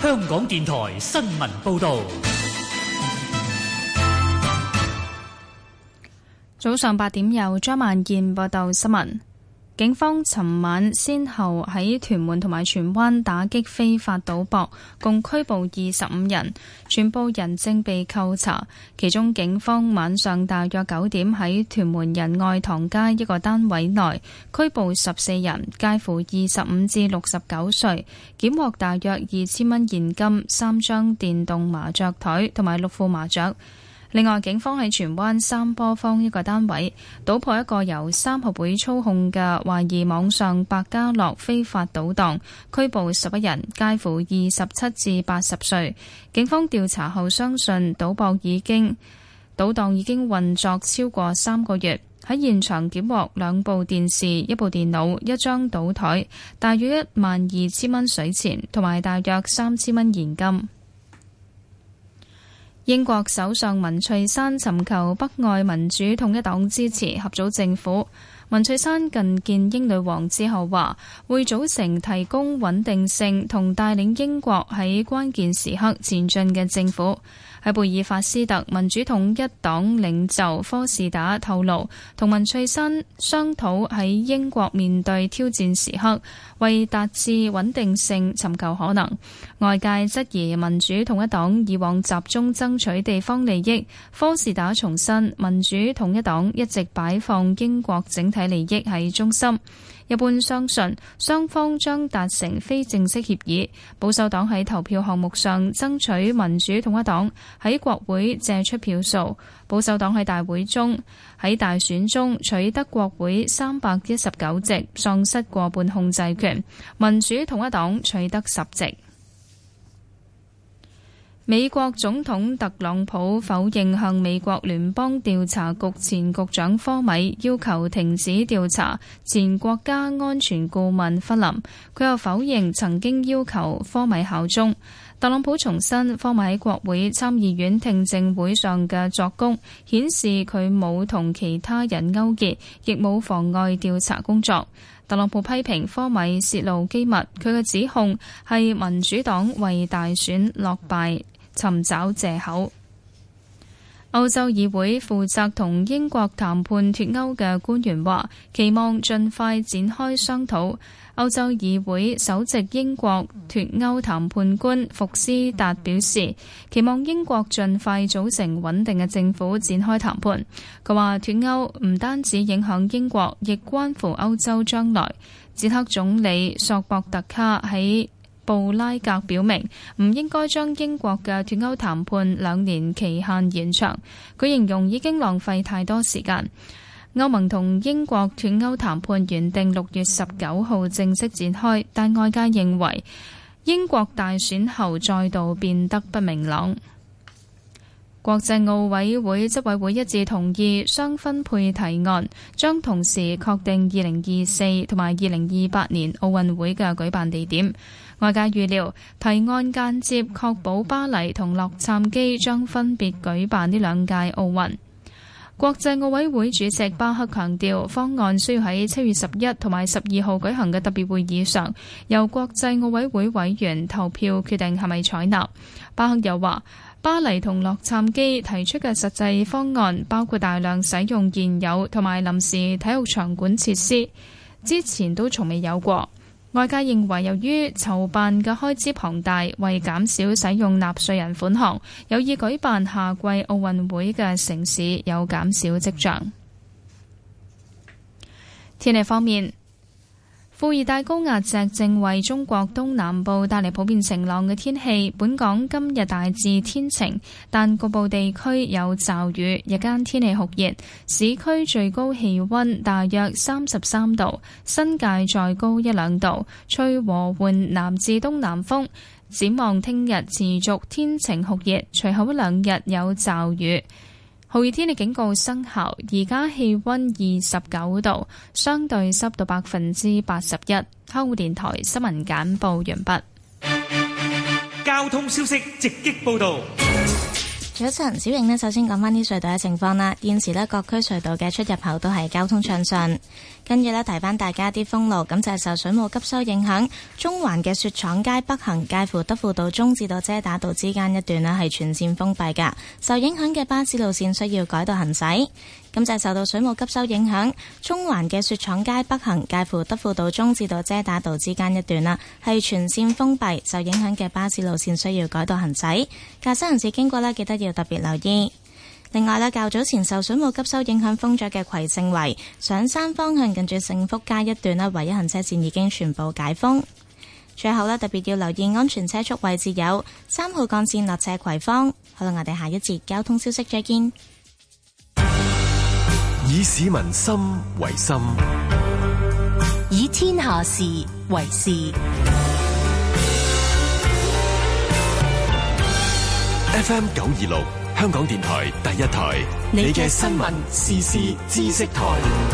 香港電台新聞報道。 早上8點由張萬燕報道新聞。警方尋晚先後喺屯門同埋荃灣打擊非法賭博，共拘捕25人，全部人正被扣查。其中警方晚上大約9點喺屯門仁愛堂街一個單位內拘捕14人，介乎25至69歲，檢獲大約2000蚊現金、3張電動麻雀台同埋6副麻雀。另外，警方喺荃灣三波坊一個單位搗破一個由三合會操控嘅懷疑網上百家樂非法賭檔，拘捕11人，介乎27至80歲。警方調查後相信賭檔已經運作超過3個月。喺現場檢獲2部電視、1部電腦、1張賭台，大約12000蚊水錢同埋大約3000蚊現金。英國首相文翠珊尋求北愛民主統一黨支持合組政府。文翠珊近見英女王之後話，會組成提供穩定性同帶領英國喺關鍵時刻前進嘅政府。喺貝爾法斯特，民主統一黨領袖科士打透露，同文翠珊商討喺英國面對挑戰時刻，為達至穩定性尋求可能。外界質疑民主統一黨以往集中爭取地方利益，科士打重申民主統一黨一直擺放英國整體利益喺中心。一般相信雙方將達成非正式協議。保守黨喺投票項目上爭取民主統一黨喺國會借出票數。保守黨喺大選中取得國會319席，喪失過半控制權。民主統一黨取得10席。美國總統特朗普否認向美國聯邦調查局前局長科米要求停止調查前國家安全顧問弗林，佢又否認曾經要求科米效忠。特朗普重申科米喺國會參議院聽證會上嘅作供，顯示佢冇同其他人勾結，亦冇妨礙調查工作。特朗普批評科米泄露機密，佢嘅指控係民主黨為大選落敗尋找藉口。歐洲議會負責同英國談判脫歐嘅官員話，期望盡快展開商討。歐洲議會首席英國脫歐談判官福斯達表示，期望英國盡快組成穩定嘅政府展開談判。佢話脫歐唔單止影響英國，亦關乎歐洲將來。捷克總理索博特卡喺布拉格表明，唔應該將英國嘅脫歐談判2年期限延長。佢形容已經浪費太多時間。歐盟同英國脫歐談判原定6月19號正式展開，但外界認為英國大選後再度變得不明朗。國際奧委會執委會一致同意雙分配提案，將同時確定2024同埋2028年奧運會嘅舉辦地點。外界預料提案間接確保巴黎同洛杉磯將分別舉辦呢2屆奧運。國際奧委會主席巴克強調，方案需要喺7月11同埋12號舉行嘅特別會議上，由國際奧委會委員投票決定係咪採納。巴克又話，巴黎同洛杉磯提出嘅實際方案包括大量使用現有同埋臨時體育場館設施，之前都從未有過。外界認為，由於籌辦嘅開支龐大，為減少使用納稅人款項，有意舉辦夏季奧運會嘅城市有減少跡象。天氣方面，副熱帶高壓脊正為中國東南部帶嚟普遍晴朗嘅天氣。本港今日大致天晴，但局部地區有驟雨。日間天氣酷熱，市區最高氣溫大約33度，新界再高1-2度，吹和緩南至東南風。展望聽日持續天晴酷熱，隨後1-2日有驟雨。酷熱天氣警告生效，而家氣溫29度，相對濕度81%。香港電台新聞簡報完畢。 交通消息直擊報道。 早晨，小瑩呢，首先講返啲隧道嘅情況啦。現時呢，各區隧道嘅出入口都係交通暢順。跟住呢，提翻大家啲封路，咁就係受水務急修影響，中環嘅雪廠街北行介乎德輔道中至到遮打道之間一段呢係全線封閉㗎。受影響嘅巴士路線需要改道行駛。咁就係受到水務急修影響，中環嘅雪廠街北行介乎德輔道中至到遮打道之間一段啦，係全線封閉。受影響嘅巴士路線需要改道行駛，駕駛人士經過呢，記得要特別留意。另外呢，較早前受水務急修影響封咗嘅葵盛圍上山方向近住盛福街一段呢，唯一行車線已經全部解封。最後呢，特別要留意安全車速位置有3號幹線落斜葵芳。好啦，我哋下一節交通消息再見。 以市民心為心， 以天下事為事。 FM 926，香港電台第一台，你嘅新聞時事知識台。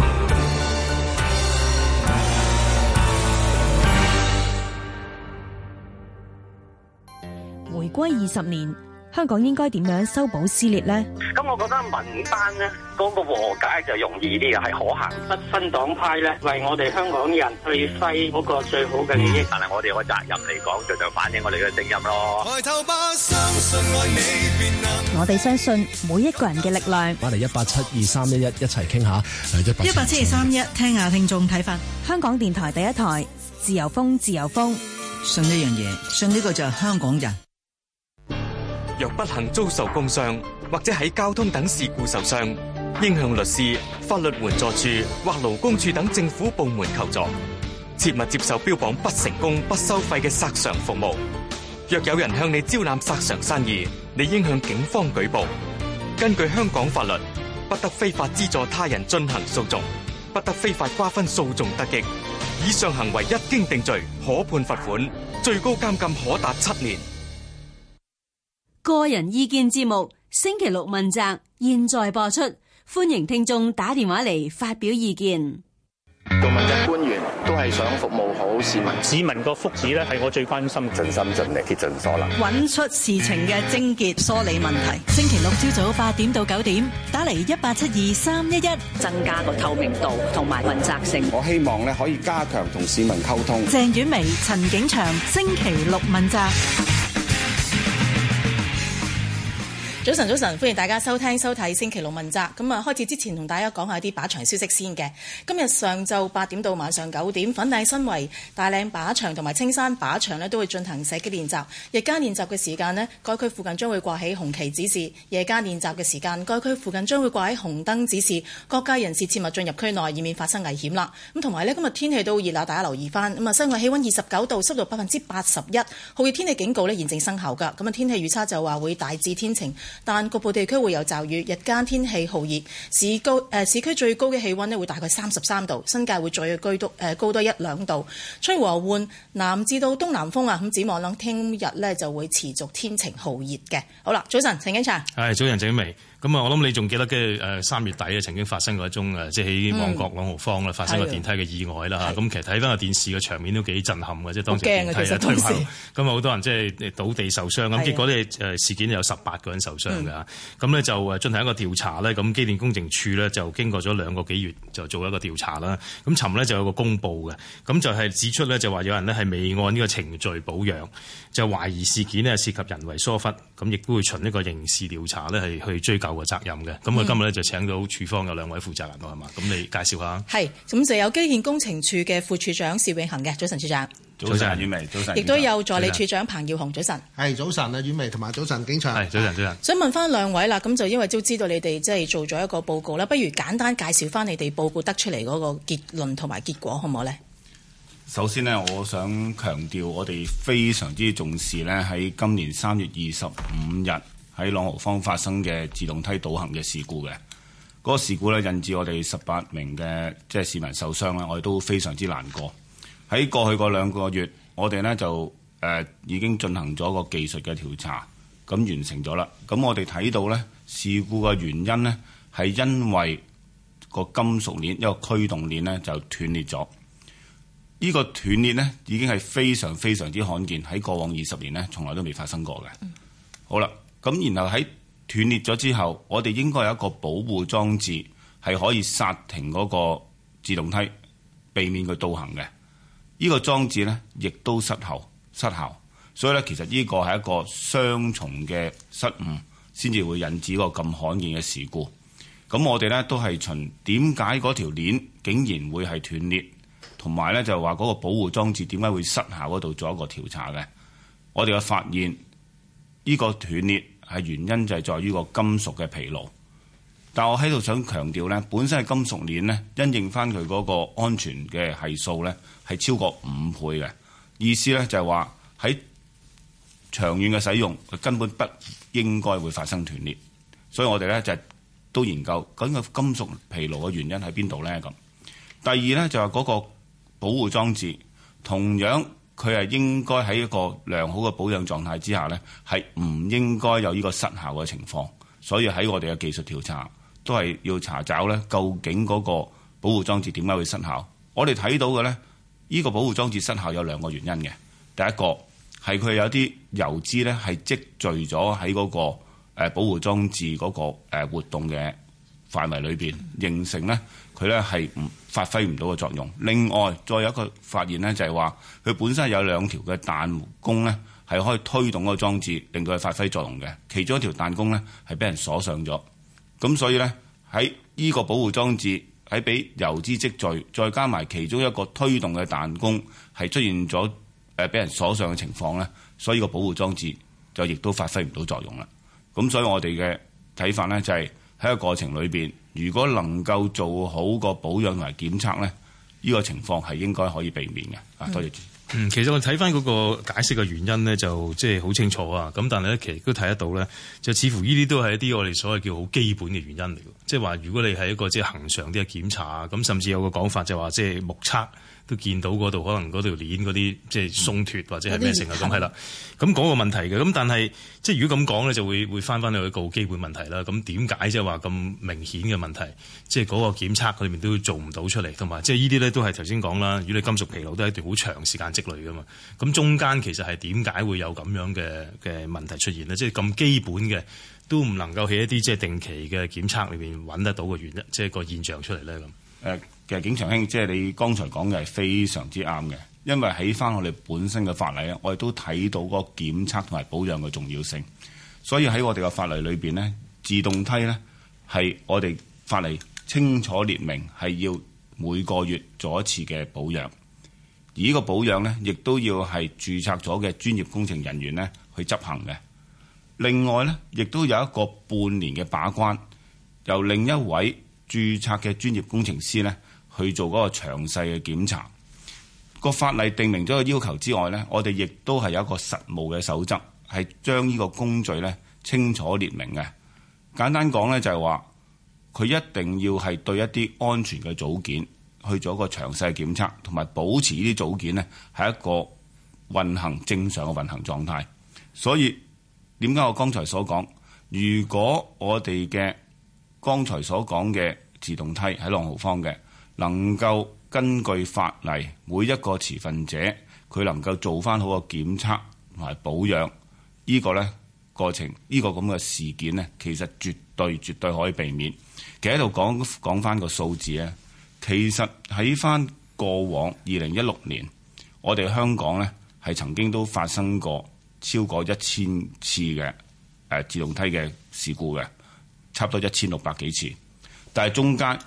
回歸20年。香港應該點樣修補撕裂呢？ 咁我覺得民間呢嗰個和解就容易啲嘅，係可行。不分黨派咧，為我哋香港人去揮嗰個最好嘅利益。但係我哋有個責任嚟講，就反映我哋嘅聲音咯。抬頭吧，相信愛你便能。 我哋相信每一個人嘅力量。 翻嚟1872311一齊傾下。 1872311聽下聽眾睇法。 香港電台第一台，自由風，自由風。 信一樣嘢，信呢個就係香港人。 若不幸遭受工傷或者喺交通等事故受傷，應向律師、法律援助處或勞工處等政府部門求助，切勿接受標榜不成功不收費嘅索償服務。若有人向你招攬索償生意，你應向警方舉報。根據香港法律，不得非法資助他人進行訴訟，不得非法瓜分訴訟得益。以上行為一經定罪，可判罰款，最高監禁可達7年。 個人意見節目星期六問責，現在播出，歡迎聽眾打電話嚟發表意見。 做問責官員都係想服務好市民， 市民個福祉咧係我最關心， 盡心盡力竭盡所能， 揾出事情嘅症結，梳理問題。星期六朝早8點到9點，打嚟1872311， 增加個透明度同埋問責性。 我希望咧可以加強同市民溝通。 鄭婉薇、陳景祥，星期六問責。早晨，歡迎大家收聽收睇星期六問責。咁啊，開始之前同大家講下啲靶場消息先嘅。今日上晝8點到晚上9點，粉嶺新圍、大嶺靶場同埋青山靶場呢都會進行射擊練習。日間練習嘅時間呢，該區附近將會掛起紅旗指示；夜間練習嘅時間，該區附近將會掛起紅燈指示。各界人士切勿進入區內，以免發生危險啦。咁同埋呢，今日天氣都熱啦，大家留意翻。咁啊，室外氣溫29度，濕度81%，酷熱天氣警告呢現正生效㗎。咁啊，天氣預測就話會大致天晴，但局部地區會有驟雨，日間天氣酷熱，市區最高嘅氣溫呢會大概33度，新界會再高多1-2度，吹和緩南至到東南風啊！咁展望啦，聽日呢就會持續天晴酷熱嘅。好啦，早晨，陳景祥。 係，早晨，鄭薇。咁啊，我諗你仲記得嘅3月底啊，曾經發生過一宗即係喺旺角朗豪坊啦，發生個電梯嘅意外啦嚇。咁其實睇翻個電視嘅場面都幾震撼嘅，即係當時電梯啊推下，咁啊好多人即係倒地受傷，咁結果咧事件有18個人受傷㗎。咁咧就進行一個調查咧，咁機電工程署咧就經過咗2個幾月就做一個調查啦。咁尋日咧就有個公佈嘅，咁就係指出咧就話有人咧係未按呢個程序保養，就懷疑事件呢涉及人為疏忽，咁亦都會循呢個刑事調查咧係去追究個責任嘅。咁我今日咧就請到處方有2位負責人係嘛？咁你介紹下。係，咁就有機電工程署嘅副處長薛永恒嘅，早晨處長。 早晨，婉薇，早晨。 亦都有助理處長彭耀雄，早晨。 係，早晨啊，婉薇同埋早晨景祥。係，早晨，早晨。 想問翻2位啦，咁就因為都知道你哋即係做咗一個報告啦，不如簡單介紹翻你哋報告得出嚟嗰個結論同埋結果，好唔好呢？ 首先呢，我想強調我哋非常之重視呢喺今年3月25日喺朗豪坊發生嘅自動梯倒行嘅事故嘅。嗰個事故呢，引致我哋18名嘅即係市民受傷啦，我哋都非常之難過。喺過去嗰2個月，我哋呢就已經進行咗個技術嘅調查，咁完成咗啦。咁我哋睇到呢事故嘅原因呢，係因為個金屬鏈一個驅動鏈呢就斷裂咗。呢個斷裂呢已經係非常非常之罕見，喺過往20年呢從來都未發生過嘅。好啦，咁然後喺斷裂咗之後，我哋應該有一個保護裝置係可以剎停嗰個自動梯，避免佢倒行嘅。呢個裝置呢，亦都失效，所以咧，其實呢個係一個雙重嘅失誤，先至會引致個咁罕見嘅事故。咁我哋咧都係循點解嗰條鏈竟然會係斷裂，同埋咧就話嗰個保護裝置點解會失效嗰度做一個調查嘅。我哋嘅發現呢個斷裂係原因就係在於個金屬嘅疲勞。但我喺度想強調咧，本身係金屬鏈咧，因應翻佢嗰個安全嘅係數咧係超過5倍嘅。意思咧就係話喺長遠嘅使用，佢根本不應該會發生斷裂。所以我哋咧就都研究究竟個金屬疲勞嘅原因喺邊度咧咁。第二咧就係嗰個保護裝置，同樣佢係應該喺一個良好嘅保養狀態之下咧，係唔應該有呢個失效嘅情況。所以喺我哋嘅技術調查都係要查找咧，究竟嗰個保護裝置點解會失效？我哋睇到嘅咧，呢個保護裝置失效有2個原因嘅。第一個係佢有啲油脂咧係積聚咗喺嗰個保護裝置嗰個活動嘅範圍裏邊，形成咧佢咧係發揮唔到嘅作用。另外再有一個發現咧，就係話佢本身有2條嘅彈弓咧係可以推動嗰個裝置，令到佢發揮作用嘅。其中一條彈弓咧係俾人鎖上咗，咁所以咧喺呢個保護裝置喺俾油脂積聚，再加埋其中一個推動嘅彈弓係出現咗俾人鎖上嘅情況咧，所以個保護裝置就亦都發揮唔到作用啦。咁所以我哋嘅睇法咧就係喺個過程裏邊，如果能夠做好個保養同埋檢測咧，呢個情況係應該可以避免嘅。多謝主席。 其實我睇翻嗰個解釋嘅原因咧，就即係好清楚啊。咁但係咧，其實都睇得到咧，就似乎呢啲都係一啲我哋所謂叫好基本嘅原因嚟嘅。即係話，如果你係一個即係恆常啲嘅檢查，咁甚至有個講法就話，即係目測都見到嗰度可能嗰條鏈嗰啲即係鬆脱或者係咩成啊咁係啦。咁講個問題嘅，咁但係即係如果咁講咧，就會翻去一個基本問題啦。咁點解即係話咁明顯嘅問題，即係嗰個檢測裏面都做唔到出嚟，同埋即係呢啲咧都係頭先講啦。如果你金屬疲勞都係一段好長時間積累噶嘛，咁中間其實係點解會有咁樣嘅問題出現呢？即係咁基本嘅都唔能夠喺一啲即係定期嘅檢測裏面揾得到嘅原因，即係個現象出嚟咧咁。 其實景祥兄，即係你剛才講嘅係非常之啱嘅，因為喺翻我哋本身嘅法例咧，我哋都睇到嗰個檢測同埋保養嘅重要性。所以喺我哋嘅法例裏邊呢，自動梯呢係我哋法例清楚列明係要每個月做一次嘅保養，而呢個保養呢，亦都要係註冊咗嘅專業工程人員呢去執行嘅。另外呢，亦都有一個半年嘅把關，由另一位註冊嘅專業工程師呢去做嗰個詳細嘅檢查。個法例定明咗個要求之外呢，我哋亦都係有一個實務嘅守則，係將呢個工序呢清楚列明嘅。簡單講呢，就係話，佢一定要係對一啲安全嘅組件去做一個詳細嘅檢測，同埋保持呢啲組件呢係一個運行正常嘅運行狀態。所以點解我剛才所講，如果我哋嘅剛才所講嘅自動梯喺朗豪坊嘅，能夠根據法例，每一個持份者佢能夠做翻好個檢測同埋保養，呢個呢過程，呢個咁嘅事件呢，其實絕對可以避免。其實喺度講翻個數字呢，其實喺翻過往2016年，我哋香港呢係曾經都發生過超過1000次嘅自動梯嘅事故嘅，差唔多1600幾次。但係中間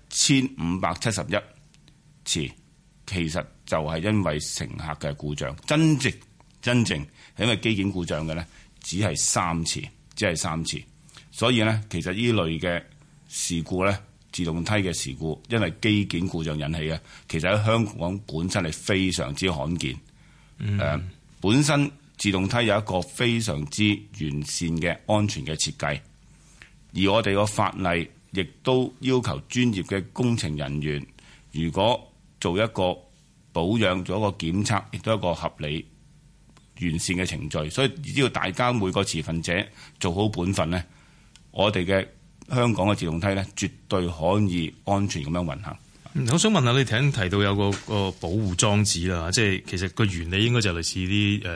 1571次，其實就係因為乘客嘅故障，真正係因為機件故障嘅呢，只係3次。所以呢，其實呢類嘅事故呢，自動梯嘅事故，因為機件故障引起嘅，其實喺香港本身係非常之罕見。本身自動梯有一個非常之完善嘅安全嘅設計，而我哋個法例亦都要求專業嘅工程人員，如果做一個保養、做一個檢測，亦都係一個合理完善嘅程序。所以只要大家每個持份者做好本分呢，我哋嘅香港嘅自動梯呢，絕對可以安全咁樣運行。 我想問下你提到有個保護裝置啦，即係其實個原理應該就類似啲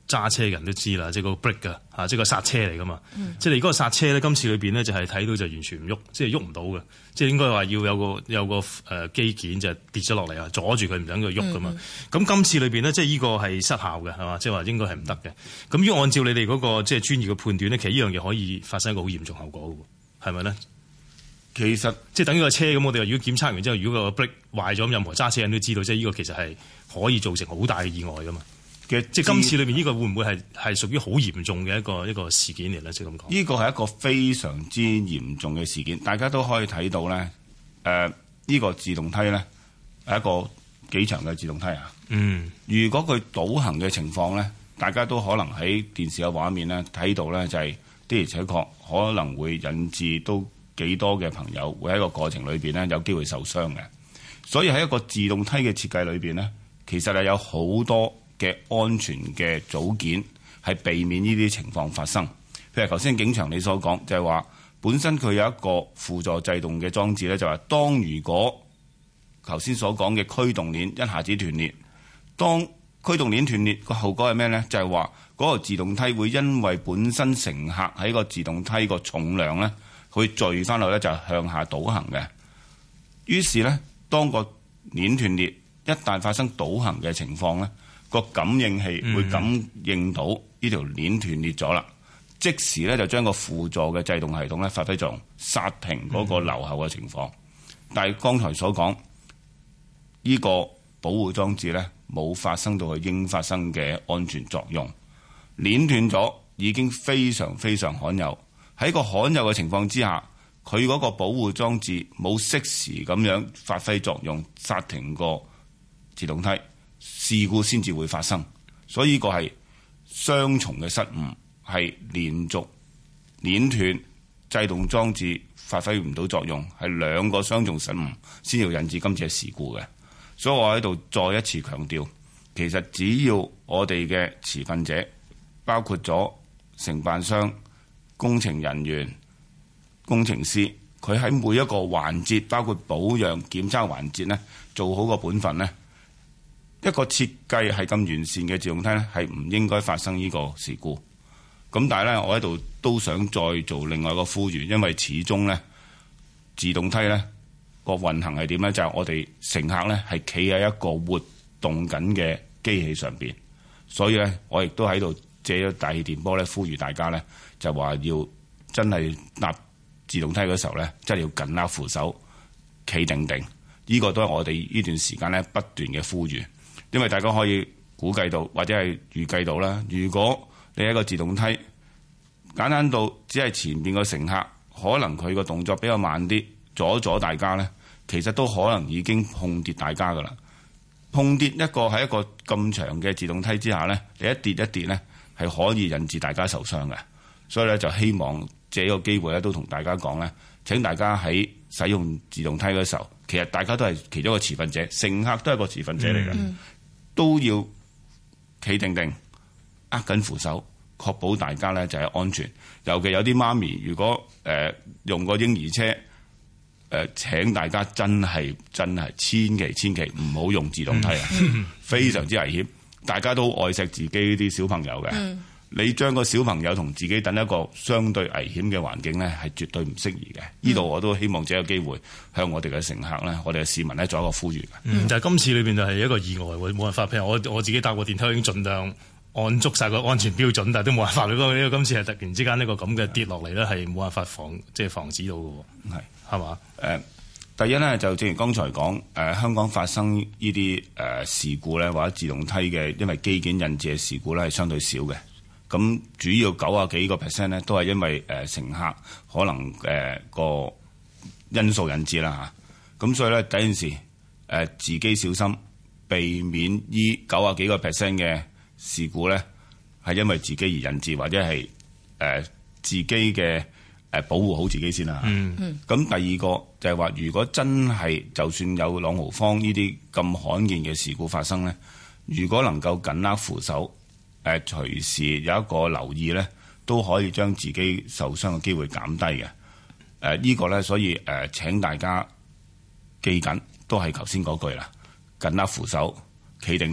揸車嘅人都知啦，即係個 brake 㗎嚇，即係個剎車嚟㗎嘛。即係你嗰個剎車咧，今次裏邊咧就係睇到就完全唔喐，即係喐唔到嘅。即係應該話要有個機件就跌咗落嚟啊，阻住佢唔等佢喐㗎嘛。咁今次裏邊呢，即係呢個係失效嘅係嘛，即係話應該係唔得嘅。咁如果按照你哋嗰個即係專業嘅判斷咧，其實呢樣嘢可以發生一個好嚴重後果嘅喎，係咪咧？ 其實即係等於個車咁，我哋話如果檢測完之後，如果個 brake 壞咗，咁任何揸車人都知道，即係呢個其實係可以造成好大嘅意外㗎嘛。即係今次裏面呢個會唔會係屬於好嚴重嘅一個事件嚟咧？即係咁講，呢個係一個非常之嚴重嘅事件，大家都可以睇到咧。呢個自動梯咧係一個幾長嘅自動梯啊。如果佢倒行嘅情況咧，大家都可能喺電視嘅畫面咧睇到咧，就係的而且確可能會引致都幾多嘅朋友會喺個過程裏邊咧有機會受傷嘅。所以喺一個自動梯嘅設計裏邊咧，其實係有好多嘅安全嘅組件係避免呢啲情況發生。譬如頭先景祥你所講，就係話本身佢有一個輔助制動嘅裝置咧，就係話當如果頭先所講嘅驅動鏈一下子斷裂，當驅動鏈斷裂個後果係咩咧？就係話嗰個自動梯會因為本身乘客喺個自動梯個重量咧，會墜翻落咧就向下倒行嘅。於是咧，當個鏈斷裂，一旦發生倒行嘅情況咧，個感應器會感應到呢條鏈斷裂咗啦，即時咧就將個輔助嘅制動系統咧發揮作用，剎停嗰個留後嘅情況。但係剛才所講呢個保護裝置咧冇發生到佢應發生嘅安全作用，鏈斷咗已經非常非常罕有。喺個罕有嘅情況之下，佢嗰個保護裝置冇適時咁樣發揮作用，剎停個自動梯，事故先至會發生。所以呢個係雙重嘅失誤，係連續鏈斷制動裝置發揮唔到作用，係兩個雙重失誤先要引致今次嘅事故嘅。所以我喺度再一次強調，其實只要我哋嘅持份者，包括咗承辦商、工程人員、工程師，佢喺每一個環節，包括保養、檢測環節呢，做好個本分呢，一個設計係咁完善嘅自動梯呢，係唔應該發生呢個事故。咁但係呢，我喺度都想再做另外一個呼籲，因為始終呢，自動梯呢個運行係點呢？就係我哋乘客呢係企喺一個活動緊嘅機器上邊，所以呢，我亦都喺度借咗大氣電波呢，呼籲大家呢，就話要真係搭自動梯嗰時候呢，真係要緊握扶手，企定定。呢個都係我哋呢段時間呢不斷嘅呼籲，因為大家可以估計到或者係預計到啦。如果你一個自動梯簡單到只係前邊個乘客可能佢個動作比較慢啲，阻大家呢，其實都可能已經碰跌大家噶啦。碰跌一個喺一個咁長嘅自動梯之下呢，你一跌呢，係可以引致大家受傷嘅。所以咧就希望借個機會咧都同大家講呢，請大家喺使用自動梯嘅時候，其實大家都係其中一個持份者，乘客都係個持份者嚟嘅，都要企定定，握緊扶手，確保大家呢就係安全。尤其有啲媽咪，如果用個嬰兒車，請大家真係千祈唔好用自動梯啊，非常之危險。大家都愛錫自己啲小朋友嘅，你將個小朋友同自己等一個相對危險嘅環境呢，係絕對唔適宜嘅。呢度我都希望借個機會向我哋嘅乘客呢，我哋嘅市民呢，做一個呼籲嘅。 但係今次裏邊就係一個意外喎，冇辦法。譬如我自己搭過電梯已經盡量按足晒個安全標準，但係都冇辦法。呢個今次係突然之間呢個咁嘅跌落嚟呢，係冇辦法防止到嘅喎。係嘛？ 第一呢，就正如剛才講，香港發生呢啲事故呢，或者自動梯嘅因為機件引致嘅事故呢，係相對少嘅。咁主要90幾個%呢，都係因為乘客可能個因素引致啦嚇。咁所以呢，第一件事自己小心，避免依90幾個%嘅事故呢，係因為自己而引致，或者係自己嘅保護好自己先啦。咁第二個就係話，如果真係就算有朗豪坊呢啲咁罕見嘅事故發生呢，如果能夠緊握扶手，隨時有一個留意呢，都可以將自己受傷嘅機會減低嘅。呢個呢，所以請大家記緊，都係頭先嗰句啦，緊握扶手，企定定，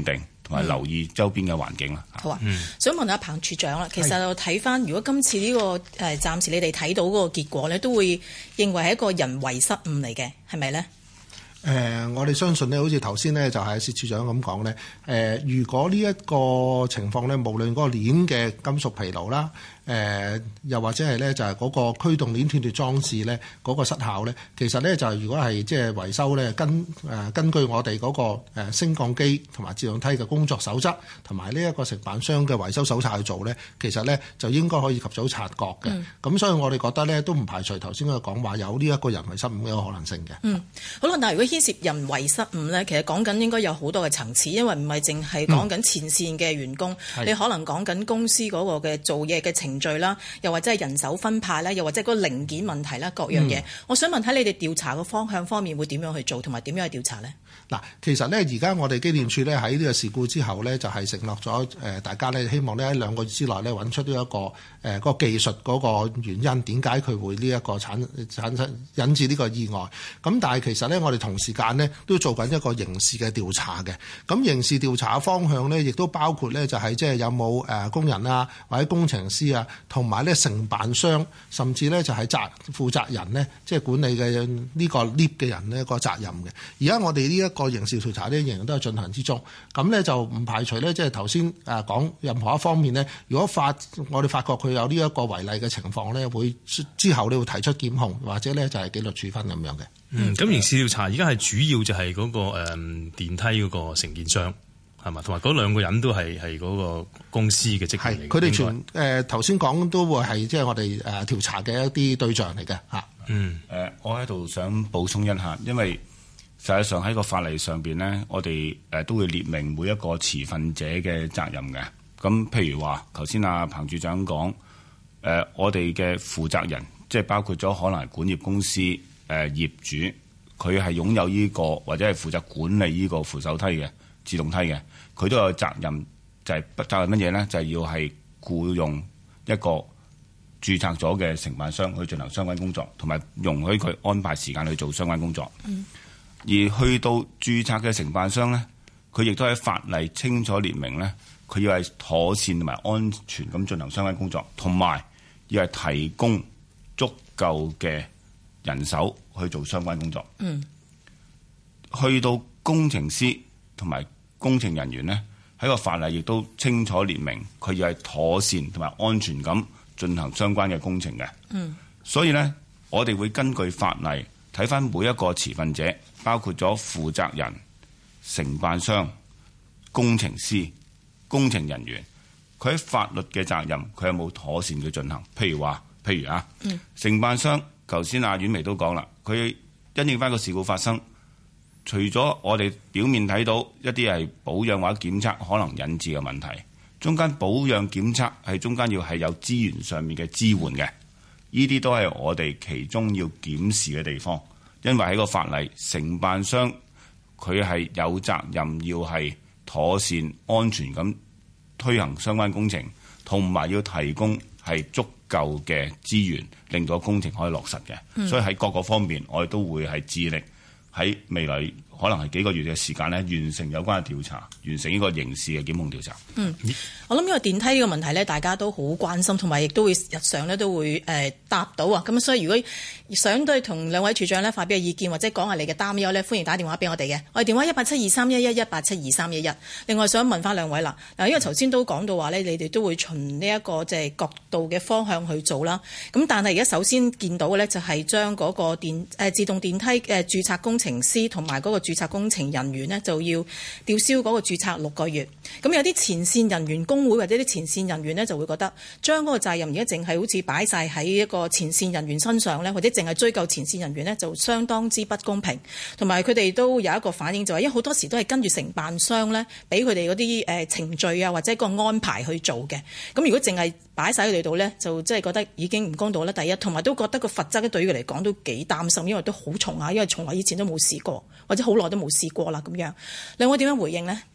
同埋留意周邊嘅環境啦。 好啊，想問下彭處長啦，其實我睇翻如果今次呢個暫時你哋睇到嗰個結果呢，都會認為係一個人為失誤嚟嘅，係咪呢？ 我哋相信呢，好似頭先呢，就係薛處長咁講呢。如果呢一個情況呢，無論嗰個鏈嘅金屬疲勞啦，又或者係咧就係嗰個驅動鏈斷脫裝置咧嗰個失效咧，其實咧就係如果係即係維修咧，根據我哋嗰個升降機同埋自動梯嘅工作守則同埋呢一個承辦商嘅維修手冊去做咧，其實咧就應該可以及早察覺嘅。咁所以我哋覺得咧都唔排除頭先佢講話有呢一個人為失誤嘅可能性嘅。 好啦，但係如果牽涉人為失誤咧，其實講緊應該有好多嘅層次，因為唔係淨係講緊前線嘅員工，你可能講緊公司嗰個嘅做嘢嘅程序啦，又或者係人手分派啦，又或者嗰個零件問題啦，各樣嘢。我想問睇你哋調查嘅方向方面會點樣去做，同埋點樣去調查呢？ 嗱，其實呢，而家我哋機電署呢喺呢個事故之後呢，就係承諾咗大家呢，希望呢喺2個月之內呢揾出呢一個嗰個技術嗰個原因，點解佢會呢一個產生引致呢個意外。咁但係其實呢，我哋同時間呢都做緊一個刑事嘅調查嘅。咁刑事調查嘅方向呢，亦都包括呢就係即係有冇工人啊，或者工程師啊，同埋呢承辦商，甚至呢就係負責人呢，即係管理嘅呢個 lift 嘅人呢個責任嘅。而家我哋呢一個刑事調查呢，仍然都係進行之中。咁呢就唔排除呢，即係頭先講任何一方面呢，如果我哋發覺佢有呢一個違例嘅情況呢，會之後呢會提出檢控，或者呢就係紀律處分咁樣嘅。 咁刑事調查而家係主要就係嗰個電梯嗰個承建商係嘛，同埋嗰2個人都係嗰個公司嘅職員嚟嘅。佢哋頭先講都會係即係我哋調查嘅一啲對象嚟嘅嚇。 我喺度想補充一下，因為實際上喺個法例上邊呢，我哋都會列明每一個持份者嘅責任嘅。咁譬如話，頭先阿彭處長講，我哋嘅負責人，即係包括咗可能係管業公司、業主，佢係擁有呢個或者係負責管理呢個扶手梯嘅自動梯嘅，佢都有責任，就係責任乜嘢呢？就係要係僱用一個註冊咗嘅承辦商去進行相關工作，同埋容許佢安排時間去做相關工作。而去到註冊嘅承辦商呢，佢亦都喺法例清楚列明呢，佢要係妥善同埋安全咁進行相關工作，同埋要係提供足夠嘅人手去做相關工作。去到工程師同埋工程人員呢，喺個法例亦都清楚列明，佢要係妥善同埋安全咁進行相關嘅工程嘅。所以呢，我哋會根據法例睇返每一個持份者，包括咗負責人、承辦商、工程師、工程人員，佢喺法律嘅責任，佢有冇妥善嘅進行？譬如承辦商，頭先阿婉薇都講啦，佢因應返個事故發生，除咗我哋表面睇到一啲係保養或者檢測可能引致嘅問題，中間保養檢測係中間要係有資源上面嘅支援嘅，呢啲都係我哋其中要檢視嘅地方。因為喺個法例，承辦商佢係有責任要係妥善安全咁推行相關工程，同埋要提供係足夠嘅資源，令到工程可以落實嘅。所以喺各個方面，我哋都會係致力喺未來可能係幾個月嘅時間呢，完成有關嘅調查，完成呢個刑事嘅檢控調查。 我諗呢個電梯呢個問題呢，大家都好關心，同埋亦都會日常呢都會答到啊。咁所以如果想對同兩位處長呢發表嘅意見，或者講下你嘅擔憂呢，歡迎打電話俾我哋嘅。我哋電話1872311 1872311。另外想問翻兩位啦，因為頭先都講到話呢，你哋都會循呢一個即係角度嘅方向去做啦。咁但係而家首先見到嘅呢，就係將嗰個自動電梯嘅註冊工程師同埋嗰個註冊工程人員呢，就要吊銷嗰個註冊6個月。咁有啲前線人員工會或者啲前線人員呢，就會覺得將嗰個責任而家淨係好似擺晒喺一個前線人員身上呢，或者淨係追究前線人員呢，就相當之不公平。同埋佢哋都有一個反應，就係因為好多時都係跟住承辦商呢，俾佢哋嗰啲程序啊或者個安排去做嘅。咁如果淨係擺晒喺佢哋度呢，就即係覺得已經唔公道啦。第一，同埋都覺得個罰則咧對於佢嚟講都幾擔心，因為都好重啊，因為從來以前都冇試過，或者好耐都冇試過啦咁樣。兩位點樣回應呢？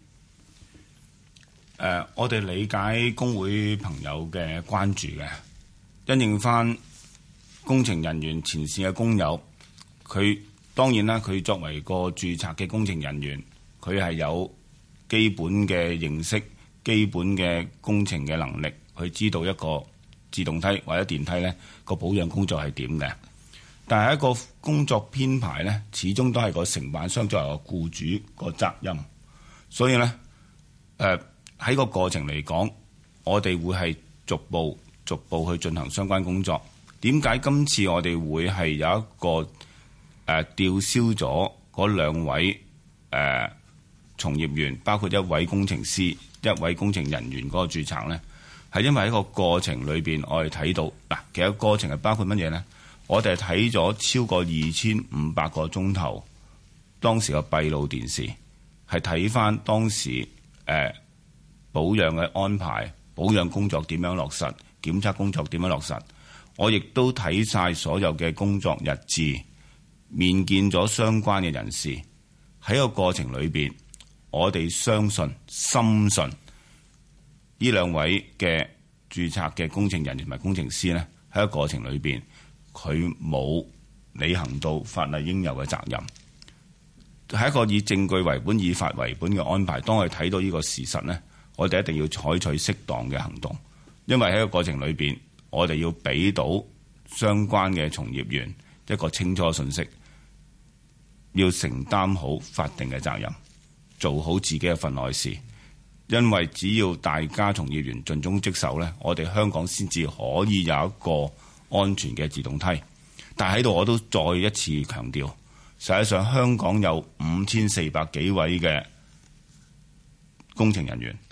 我哋理解工會朋友嘅關注嘅，因應翻工程人員前線嘅工友，佢當然啦，佢作為個註冊嘅工程人員，佢係有基本嘅認識、基本嘅工程嘅能力，去知道一個自動梯或者電梯呢個保養工作係點嘅。但係一個工作編排呢，始終都係個承辦商作為個僱主個責任。所以呢，喺個過程嚟講，我哋會係逐步去進行相關工作。點解今次我哋會係有一個吊銷咗嗰兩位從業員，包括一位工程師、一位工程人員嗰個註冊呢？係因為喺個過程裏邊，我哋睇到嗱，其實過程係包括乜嘢呢？我哋睇咗超過2500個鐘頭當時嘅閉路電視，係睇翻當時保養嘅安排、保養工作點樣落實、檢測工作點樣落實。我亦都睇晒所有嘅工作日誌，面見咗相關嘅人士。喺個過程裏邊，我哋相信、深信呢兩位嘅註冊嘅工程人員同埋工程師呢，喺個過程裏邊，佢冇履行到法例應有嘅責任，係一個以證據為本、以法為本嘅安排。當我哋睇到呢個事實呢，我哋一定要採取適當嘅行動，因為喺個過程裏邊，我哋要俾到相關嘅從業員一個清楚信息，要承擔好法定嘅責任，做好自己嘅份內事。因為只要大家從業員盡忠職守呢，我哋香港先至可以有一個安全嘅自動梯。但係喺度我都再一次強調，實際上香港有5400幾位嘅工程人員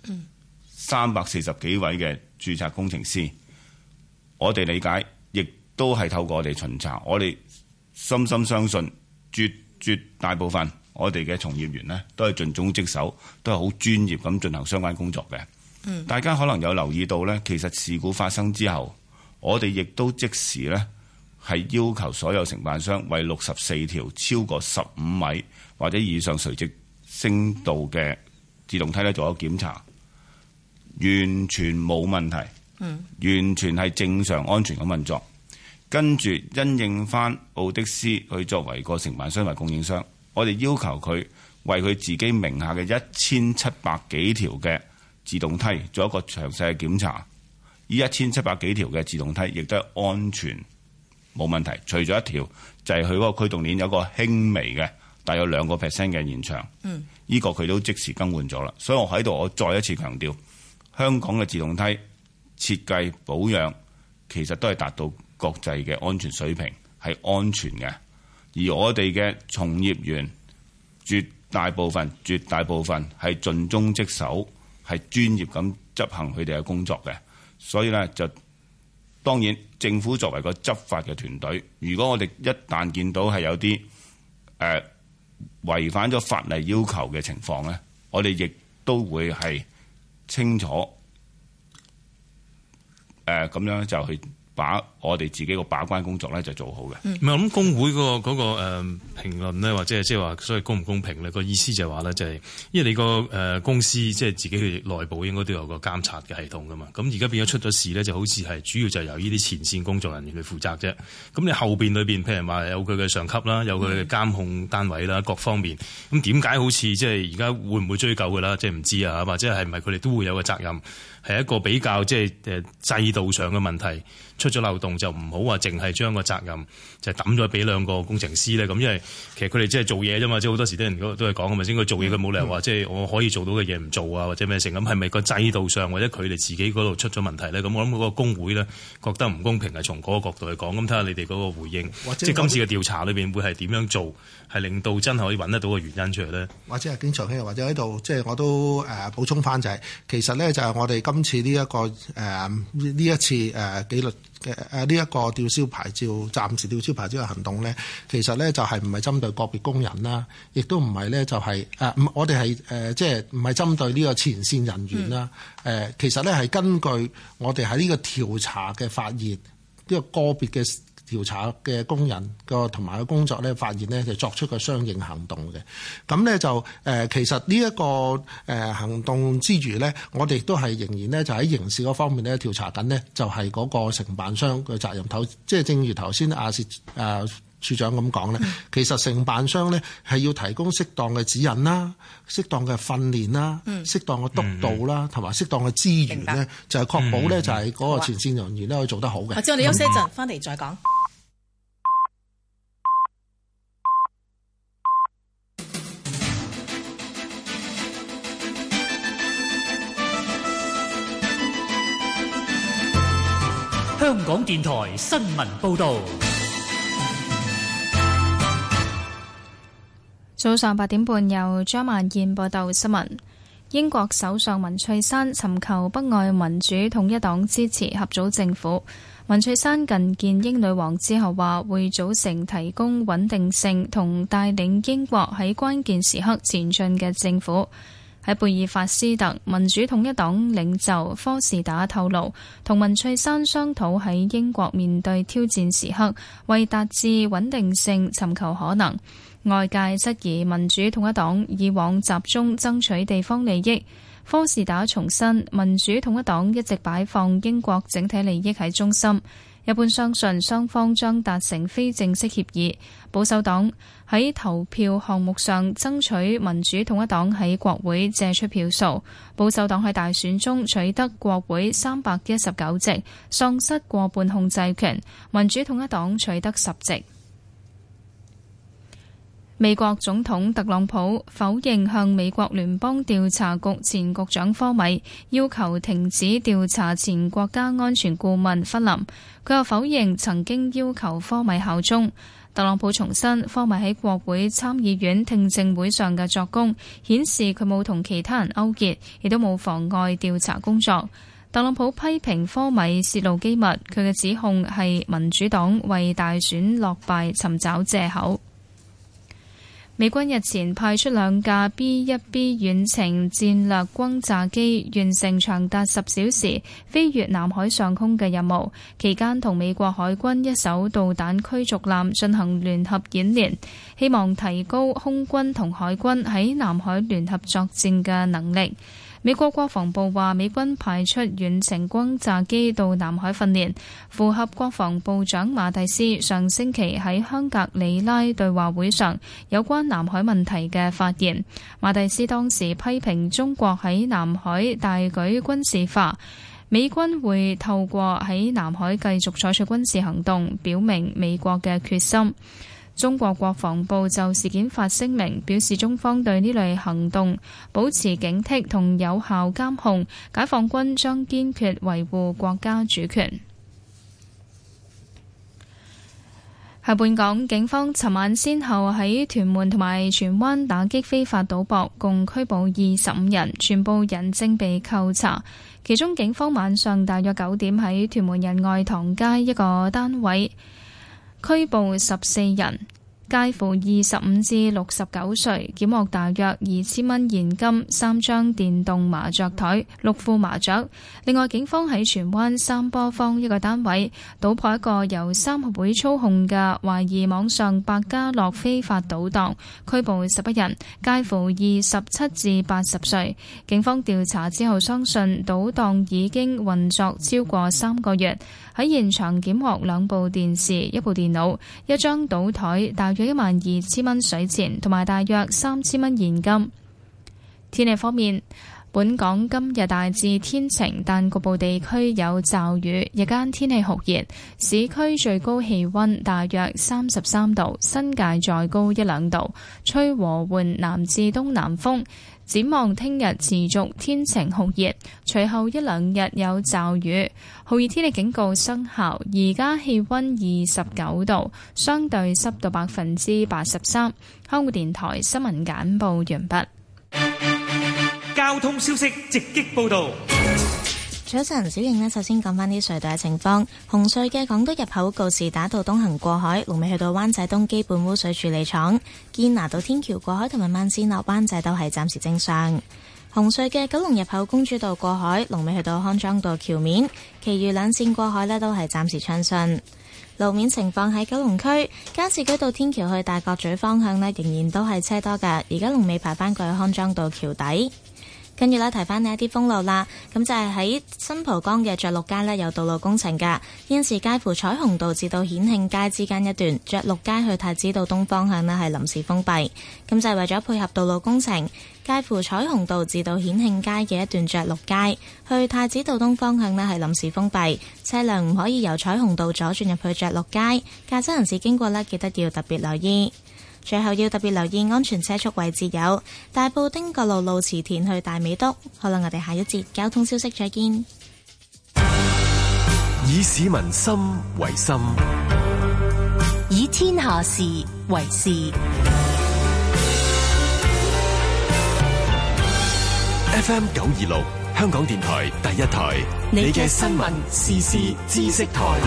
，340幾位嘅註冊工程師。我哋理解，亦都係透過我哋巡查，我哋深深相信絕大部分我哋嘅從業員呢，都係盡忠職守，都係好專業咁進行相關工作嘅。大家可能有留意到呢，其實事故發生之後，我哋亦都即時呢係要求所有承辦商為64條超過15米或者以上垂直升度嘅自動梯呢做咗檢查，完全冇問題，完全係正常安全咁運作。跟住因應翻奧的斯去作為個承辦商或供應商，我哋要求佢為佢自己名下嘅1700幾條嘅自動梯做一個詳細嘅檢查。呢1700幾條嘅自動梯亦都係安全冇問題，除咗一條就係佢嗰個驅動鏈有個輕微嘅大約2% 嘅延長，呢個佢都即時更換咗啦。所以我喺度我再一次強調，香港嘅自動梯設計保養其實都係達到國際嘅安全水平，係安全嘅。而我哋嘅從業員絕大部分係盡忠職守，係專業咁執行佢哋嘅工作嘅。所以呢，就當然政府作為個執法嘅團隊，如果我哋一旦見到係有啲違反咗法例要求嘅情況呢，我哋亦都會係清楚咁樣就去把我哋自己個把關工作咧就做好嘅。 唔係，我諗工會嗰個評論咧，或者係即係話所謂公唔公平咧，個意思就係話咧，就係因為你個公司即係自己嘅內部應該都有個監察嘅系統噶嘛。咁而家變咗出咗事咧，就好似係主要就由呢啲前線工作人員去負責啫。咁你後邊裏邊譬如話有佢嘅上級啦，有佢嘅監控單位啦，各方面咁點解好似即係而家會唔會追究㗎啦？即係唔知啊，或者係唔係佢哋都會有個責任？係一個比較即係制度上嘅問題，出咗漏洞就唔好話淨係將個責任就抌咗俾兩個工程師咧。咁因為其實佢哋即係做嘢啫嘛，即係好多時啲人都係講係咪先？佢做嘢佢冇理由話即係我可以做到嘅嘢唔做啊，或者咩成咁？係咪個制度上或者佢哋自己嗰度出咗問題咧？咁我諗嗰個工會咧覺得唔公平係從嗰個角度去講。咁睇下你哋嗰個回應，即係今次嘅調查裏邊會係點樣做，係令到真係可以揾得到個原因出嚟咧？或者係經常兄，或者喺度即係我都補充翻就係、是、其實咧就係我哋今次呢、這、一個呢一次紀律嘅呢一個吊銷牌照、暫時吊銷牌照嘅行動咧，其實咧就係唔係針對個別工人啦，亦都唔係咧就係我哋係即係唔係針對呢個前線人員啦。其實咧係根據我哋喺呢個調查嘅發現，呢個個別嘅調查嘅工人個同埋個工作咧，發現咧就作出個相應行動嘅。咁咧就其實呢一個行動之餘咧，我哋都係仍然咧就喺刑事嗰方面咧調查緊呢，就係嗰個承辦商嘅責任。即係正如頭先阿薛處長咁講咧，其實承辦商咧係要提供適當嘅指引啦、適當嘅訓練啦、適當嘅督導啦，同埋適當嘅資源咧，就係確保咧就係嗰個前線人員咧可以做得好嘅。 之後我哋休息一陣，翻嚟再講。 香港電台新聞報導。 早上8點半，由張萬燕報道新聞。英國首相文翠珊尋求北愛民主統一黨支持合組政府。文翠珊近見英女王之後話，會組成提供穩定性同帶領英國喺關鍵時刻前進嘅政府。喺貝爾法斯特，民主統一黨領袖科士打透露，同文翠珊商討喺英國面對挑戰時刻，為達至穩定性尋求可能。外界質疑民主統一黨以往集中爭取地方利益，科士打重申民主統一黨一直擺放英國整體利益喺中心。一般相信雙方將達成非正式協議。保守黨喺投票項目上爭取民主統一黨喺國會借出票數。保守黨喺大選中取得國會319席，喪失過半控制權。民主統一黨取得10席。美國總統特朗普否認向美國聯邦調查局前局長科米要求停止調查前國家安全顧問弗林，佢又否認曾經要求科米效忠。特朗普重申科米喺國會參議院聽證會上嘅作供，顯示佢冇同其他人勾結，亦都冇妨礙調查工作。特朗普批評科米泄露機密，佢嘅指控係民主黨為大選落敗尋找藉口。美軍日前派出2架 B-1B 遠程戰略轟炸機，完成長達10小時飛越南海上空嘅任務，期間同美國海軍一艘導彈驅逐艦進行聯合演練，希望提高空軍同海軍喺南海聯合作戰嘅能力。美國國防部話，美軍派出遠程轟炸機到南海訓練，符合國防部長馬蒂斯上星期喺香格里拉對話會上有關南海問題嘅發言。馬蒂斯當時批評中國喺南海大舉軍事化，美軍會透過喺南海繼續採取軍事行動，表明美國嘅決心。中國國防部就事件發聲明，表示中方對呢類行動保持警惕同有效監控，解放軍將堅決維護國家主權。喺本港，警方尋晚先後喺屯門同埋荃灣打擊非法賭博，共拘捕25人，全部人正被扣查。其中警方晚上大約9點喺屯門仁愛堂街一個單位拘捕14人，介乎25至69歲，檢獲大約2000蚊現金、3張電動麻雀台、6副麻雀。另外，警方喺荃灣三波坊一個單位搗破一個由三合會操控嘅懷疑網上百家樂非法賭檔，拘捕11人，介乎27至80歲。警方調查之後相信賭檔已經運作超過3個月。喺現場檢獲2部電視、1部電腦、一張賭台、大約12000蚊水錢同埋大約3000蚊現金。天氣方面，本港今日大致天晴，但局部地區有驟雨。日間天氣酷熱，市區最高氣溫大約33度，新界再高1-2度，吹和緩南至東南風。展望聽日持續天晴酷熱，隨後1-2日有驟雨，酷熱天氣警告生效。而家氣溫29度，相對濕度83%。香港電台新聞簡報完畢。 交通消息直擊報道。 早晨，小瑩呢，首先講返啲隧道嘅情況。紅隧嘅港島入口告士打道東行過海，龍尾去到灣仔東基本污水處理廠；堅拿道天橋過海同埋慢線落灣仔都係暫時正常。紅隧嘅九龍入口公主道過海，龍尾去到康莊道橋面，其餘兩線過海呢都係暫時暢順。路面情況喺九龍區加士居道天橋去大角咀方向呢，仍然都係車多㗎，而家龍尾排返過去康莊道橋底。 跟住呢，提翻呢一啲封路啦，咁就係喺新蒲崗嘅爵祿街呢，有道路工程㗎，現時介乎彩虹道至到顯慶街之間一段爵祿街去太子道東方向呢係臨時封閉，咁就係為咗配合道路工程，介乎彩虹道至到顯慶街嘅一段爵祿街去太子道東方向呢係臨時封閉，車輛唔可以由彩虹道左轉入去爵祿街，駕駛人士經過呢，記得要特別留意。最後要特別留意安全車速位置有大埔汀角路路池田去大美督。好啦，我哋下一節交通消息再見。 以市民心為心， 以天下事為事。 FM 926香港電台第一台，你嘅新聞時事知識台。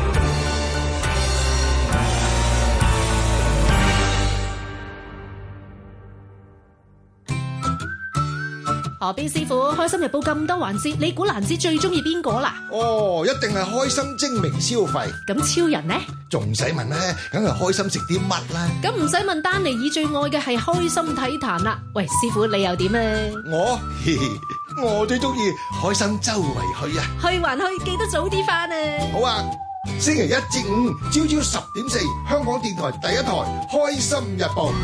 何必師傅，開心日報咁多環節，你估蘭子最中意邊個啦？ 哦，一定係開心精明消費。 咁超人呢？ 仲使問呢？梗係開心食啲乜啦？ 咁唔使問，丹尼爾最愛嘅係開心體壇啦。喂，師傅你又點啊？ 我最中意開心周圍去啊！ 去還去，記得早啲返啊！ 好啊，星期一至五朝朝10:4，香港電台第一台《開心日報》。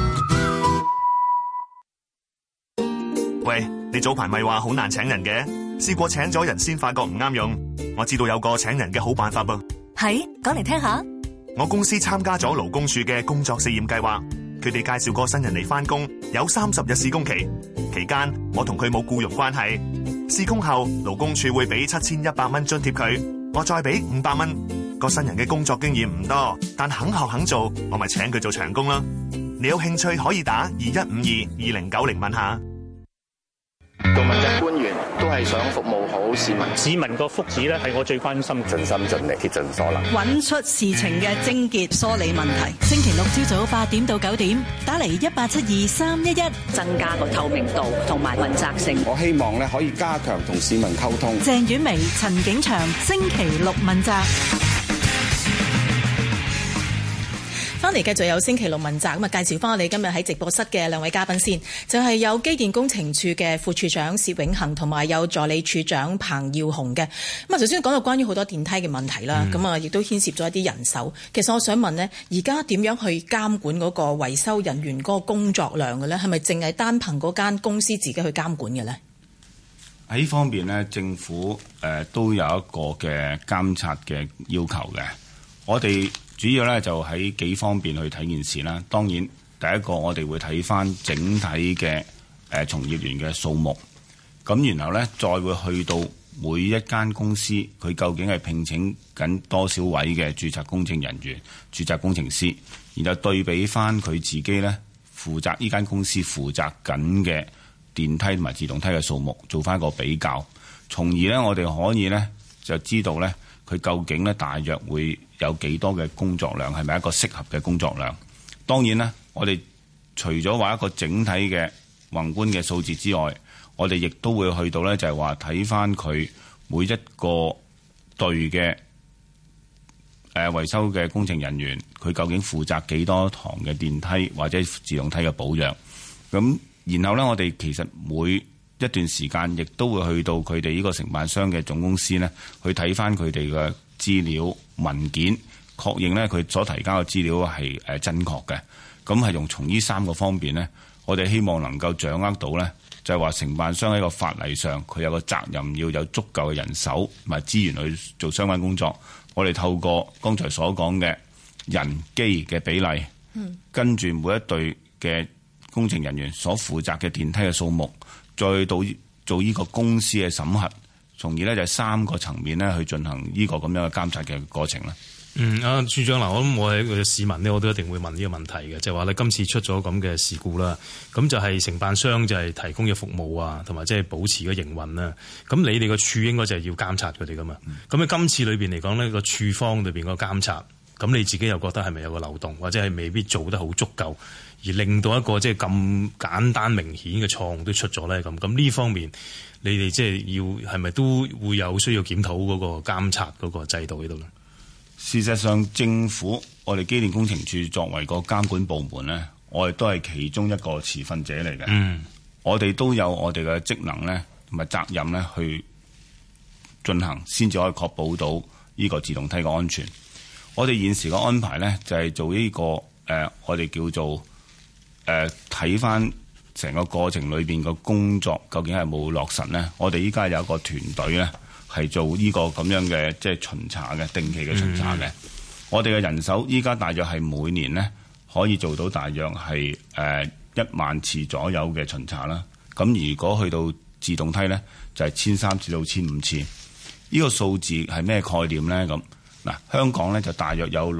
喂，你早排咪話好難請人嘅，試過請咗人先發覺唔啱用。我知道有個請人嘅好辦法噃。 係，講嚟聽下。 我公司參加咗勞工處嘅工作試驗計劃，佢哋介紹個新人嚟返工，有30日試工期，期間我同佢冇僱傭關係。試工後，勞工處會俾7100蚊津貼佢，我再俾500蚊。個新人嘅工作經驗唔多，但肯學肯做，我咪請佢做長工啦。你有興趣可以打21522090問下。 做問責官員都係想服務好市民， 市民個福祉咧係我最關心， 盡心盡力竭盡所能， 揾出事情嘅症結，梳理問題。星期六朝早8點到9點，打嚟1872-311， 增加個透明度同埋問責性。 我希望咧可以加強同市民溝通。 鄭婉薇、陳景祥，星期六問責。 翻嚟繼續有星期六問責，咁啊介紹翻我哋今日喺直播室嘅兩位嘉賓先，就係有機電工程處嘅副處長薛永恒，同埋有助理處長彭耀雄嘅。咁啊，頭先講到關於好多電梯嘅問題啦，咁啊亦都牽涉咗一啲人手。其實我想問呢，而家點樣去監管嗰個維修人員嗰個工作量嘅呢？係咪淨係單憑嗰間公司自己去監管嘅呢？ 喺呢方面呢，政府都有一個嘅監察嘅要求嘅。我哋主要咧就喺幾方面去睇件事啦。當然，第一個我哋會睇翻整體嘅從業員嘅數目，咁然後咧再會去到每一間公司佢究竟係聘請緊多少位嘅註冊工程人員、註冊工程師，然後對比翻佢自己咧負責呢間公司負責緊嘅電梯同埋自動梯嘅數目，做翻一個比較，從而咧我哋可以咧就知道咧佢究竟咧大約會有幾多嘅工作量，係咪一個適合嘅工作量？當然啦，我哋除咗話一個整體嘅宏觀嘅數字之外，我哋亦都會去到呢，就係話睇翻佢每一個隊嘅維修嘅工程人員，佢究竟負責幾多堂嘅電梯或者自動梯嘅保養。咁然後呢，我哋其實每一段時間亦都會去到佢哋呢個承辦商嘅總公司呢，去睇翻佢哋嘅資料文件，確認呢佢所提交嘅資料係真確嘅。咁係用從呢3個方面呢，我哋希望能夠掌握到呢，就係話承辦商喺個法例上佢有個責任要有足夠嘅人手同埋資源去做相關工作。我哋透過剛才所講嘅人機嘅比例，跟住每一隊嘅工程人員所負責嘅電梯嘅數目，再到做呢個公司嘅審核，從而呢就係3個層面呢去進行呢個咁樣嘅監察嘅過程啦。 處長嗱，我諗我係一個市民呢，我都一定會問呢個問題嘅，就係話咧今次出咗咁嘅事故啦，咁就係承辦商就係提供嘅服務啊，同埋即係保持嘅營運啦。咁你哋個處應該就係要監察佢哋噶嘛？咁喺今次裏邊嚟講呢，個處方裏邊個監察，咁你自己又覺得係咪有個漏洞，或者係未必做得好足夠，而令到一個即係咁簡單明顯嘅錯誤都出咗咧？咁呢方面，你哋即係要係咪都會有需要檢討嗰個監察嗰個制度喺度咧？ 事實上，政府我哋機電工程處作為個監管部門呢，我哋都係其中一個持份者嚟嘅。 我哋都有我哋嘅職能咧同埋責任咧去進行，先至可以確保到呢個自動梯嘅安全。我哋現時嘅安排咧就係做呢個我哋叫做睇翻成個過程裏邊嘅工作究竟係冇落實咧。我哋依家有一個團隊咧係做呢個咁樣嘅即係巡查嘅定期嘅巡查嘅。我哋嘅人手依家大約係每年咧可以做到大約係1萬次左右嘅巡查啦。咁如果去到自動梯咧，就係1300至到1500次。呢個數字係咩概念咧？咁嗱，香港咧就大約有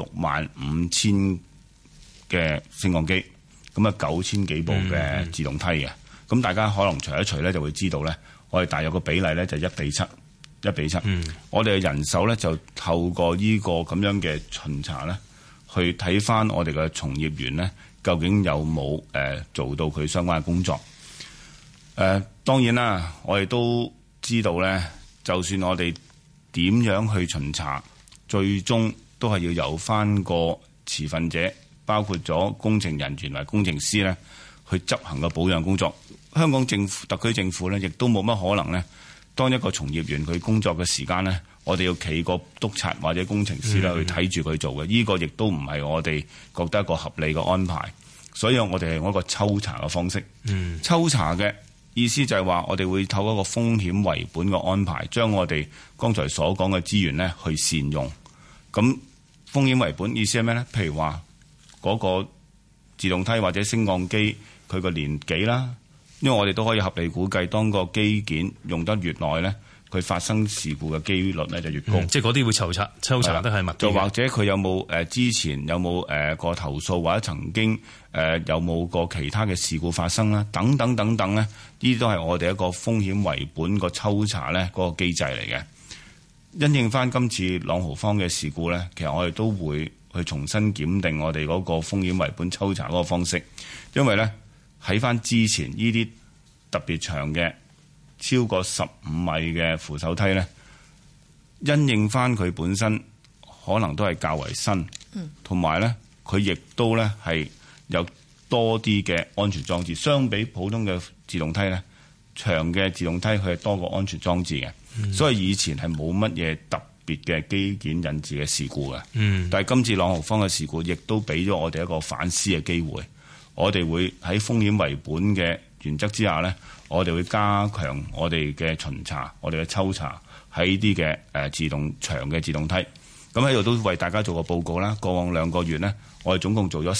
65000嘅升降機，咁啊9000幾部嘅自動梯嘅。咁大家可能除一除咧，就會知道咧，我哋大約個比例咧就1比7。我哋嘅人手咧就透過呢個咁樣嘅巡查咧，去睇翻我哋嘅從業員咧，究竟有冇做到佢相關嘅工作。當然啦，我哋都知道咧，就算我哋點樣去巡查，最終都係要由翻個持份者，包括咗工程人員同埋工程師咧，去執行個保養工作。香港政府、特區政府咧，亦都冇乜可能咧，當一個從業員佢工作嘅時間咧，我哋要企個督察或者工程師咧去睇住佢做嘅。呢個亦都唔係我哋覺得一個合理嘅安排。所以我哋係用一個抽查嘅方式。抽查嘅意思就係話，我哋會透過一個風險為本嘅安排，將我哋剛才所講嘅資源咧去善用。咁風險為本意思係咩咧？譬如話嗰個自動梯或者升降機佢個年紀啦，因為我哋都可以合理估計，當個機件用得越耐咧，佢發生事故嘅機率咧就越高。即係嗰啲會抽查得係密啲嘅。就或者佢有冇之前有冇個投訴，或者曾經有冇個其他嘅事故發生啦，等等等等咧，呢啲都係我哋一個風險為本個抽查咧嗰個機制嚟嘅。因應翻今次朗豪坊嘅事故咧，其實我哋都會去重新檢定我哋嗰個風險為本抽查嗰個方式，因為咧喺翻之前呢啲特別長嘅超過15米嘅扶手梯咧，因應翻佢本身可能都係較為新，同埋咧佢亦都咧係有多啲嘅安全裝置，相比普通嘅自動梯咧，長嘅自動梯佢係多個安全裝置嘅。所以以前係冇乜嘢特別嘅機件引致嘅事故嘅。但係今次朗豪坊嘅事故，亦都俾咗我哋一個反思嘅機會。我哋會喺風險為本嘅原則之下咧，我哋會加強我哋嘅巡查、我哋嘅抽查喺啲嘅自動長嘅自動梯。咁喺度都為大家做個報告啦。過往2個月咧，我哋總共做咗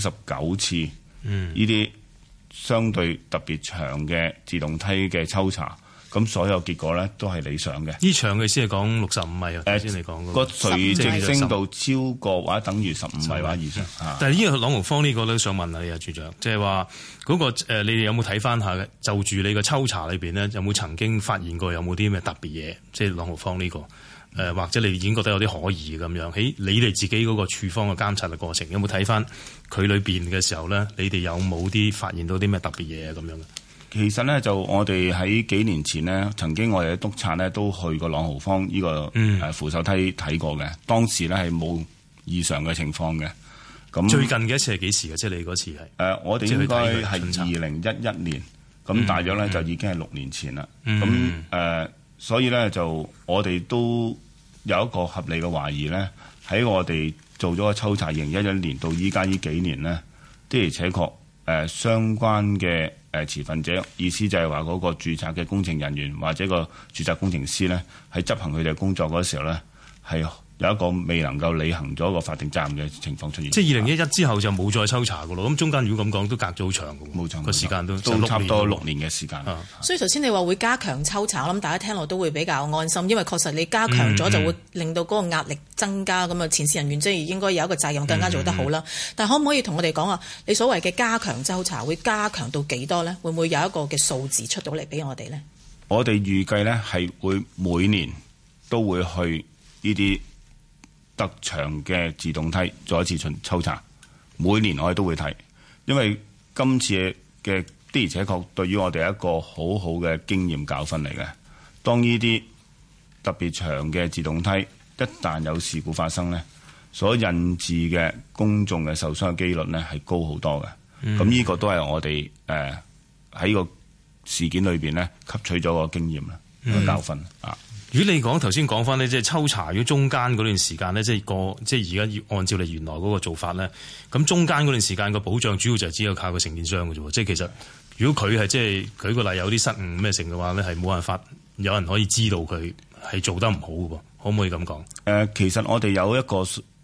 39次呢啲相對特別長嘅自動梯嘅抽查。咁所有結果咧都係理想嘅。呢長嘅先係講65米啊，先你講個垂直升度超過或者等於15米或者以上。但係呢個朗豪坊呢個咧，想問下你啊，處長，即係話嗰個你哋有冇睇翻下嘅？就住你個抽查裏邊咧，有冇曾經發現過有冇啲咩特別嘢？即係朗豪坊呢個或者你已經覺得有啲可疑咁樣喺你哋自己嗰個處方嘅監察嘅過程，有冇睇翻佢裏邊嘅時候咧？你哋有冇啲發現到啲咩特別嘢啊？咁樣嘅？其實咧，就我哋喺幾年前呢，曾經我哋嘅督察咧都去過朗豪坊呢個扶手梯睇過嘅。當時咧係冇異常嘅情況嘅。咁最近嘅一次係幾時嘅？即係你嗰次係我哋應該係2011年，咁大約咧就已經係6年前啦。咁所以咧就我哋都有一個合理嘅懷疑咧，喺我哋做咗個抽查2011年到依家呢幾年呢，的而且確相關嘅持份者，意思就係話嗰個註冊嘅工程人員或者個註冊工程師咧，喺執行佢哋嘅工作嗰時候咧，係有一個未能夠履行咗一個法定責任嘅情況出現。即係2011之後就冇再抽查噶咯。咁中間如果咁講，都隔咗好長嘅，冇錯，個時間都差唔多6年嘅時間。所以頭先你話會加強抽查，我諗大家聽落都會比較安心，因為確實你加強咗就會令到嗰個壓力增加，咁啊前線人員即係應該有一個責任更加做得好啦。但係可唔可以同我哋講啊？你所謂嘅加強抽查會加強到幾多呢？會唔會有一個嘅數字出到嚟俾我哋呢？我哋預計呢係會每年都會去呢啲特長嘅自動梯做一次抽查，每年我哋都會睇，因為今次嘅的而且確對於我哋一個好好嘅經驗教訓嚟嘅。當呢啲特別長嘅自動梯一旦有事故發生呢，所引致嘅公眾嘅受傷嘅機率呢係高好多嘅。咁呢個都係我哋喺個事件裏邊呢，吸取咗個經驗啦，個教訓啊。 如果你頭先講翻呢，即係抽查如果中間嗰段時間呢，即係而家要按照你原來嗰個做法咧，咁中間嗰段時間個保障主要就係只有靠個承建商嘅啫喎。即係其實如果佢係即係舉個例有啲失誤咩成嘅話咧，係冇辦法有人可以知道佢係做得唔好嘅喎，可唔可以咁講？ 其實我哋有一個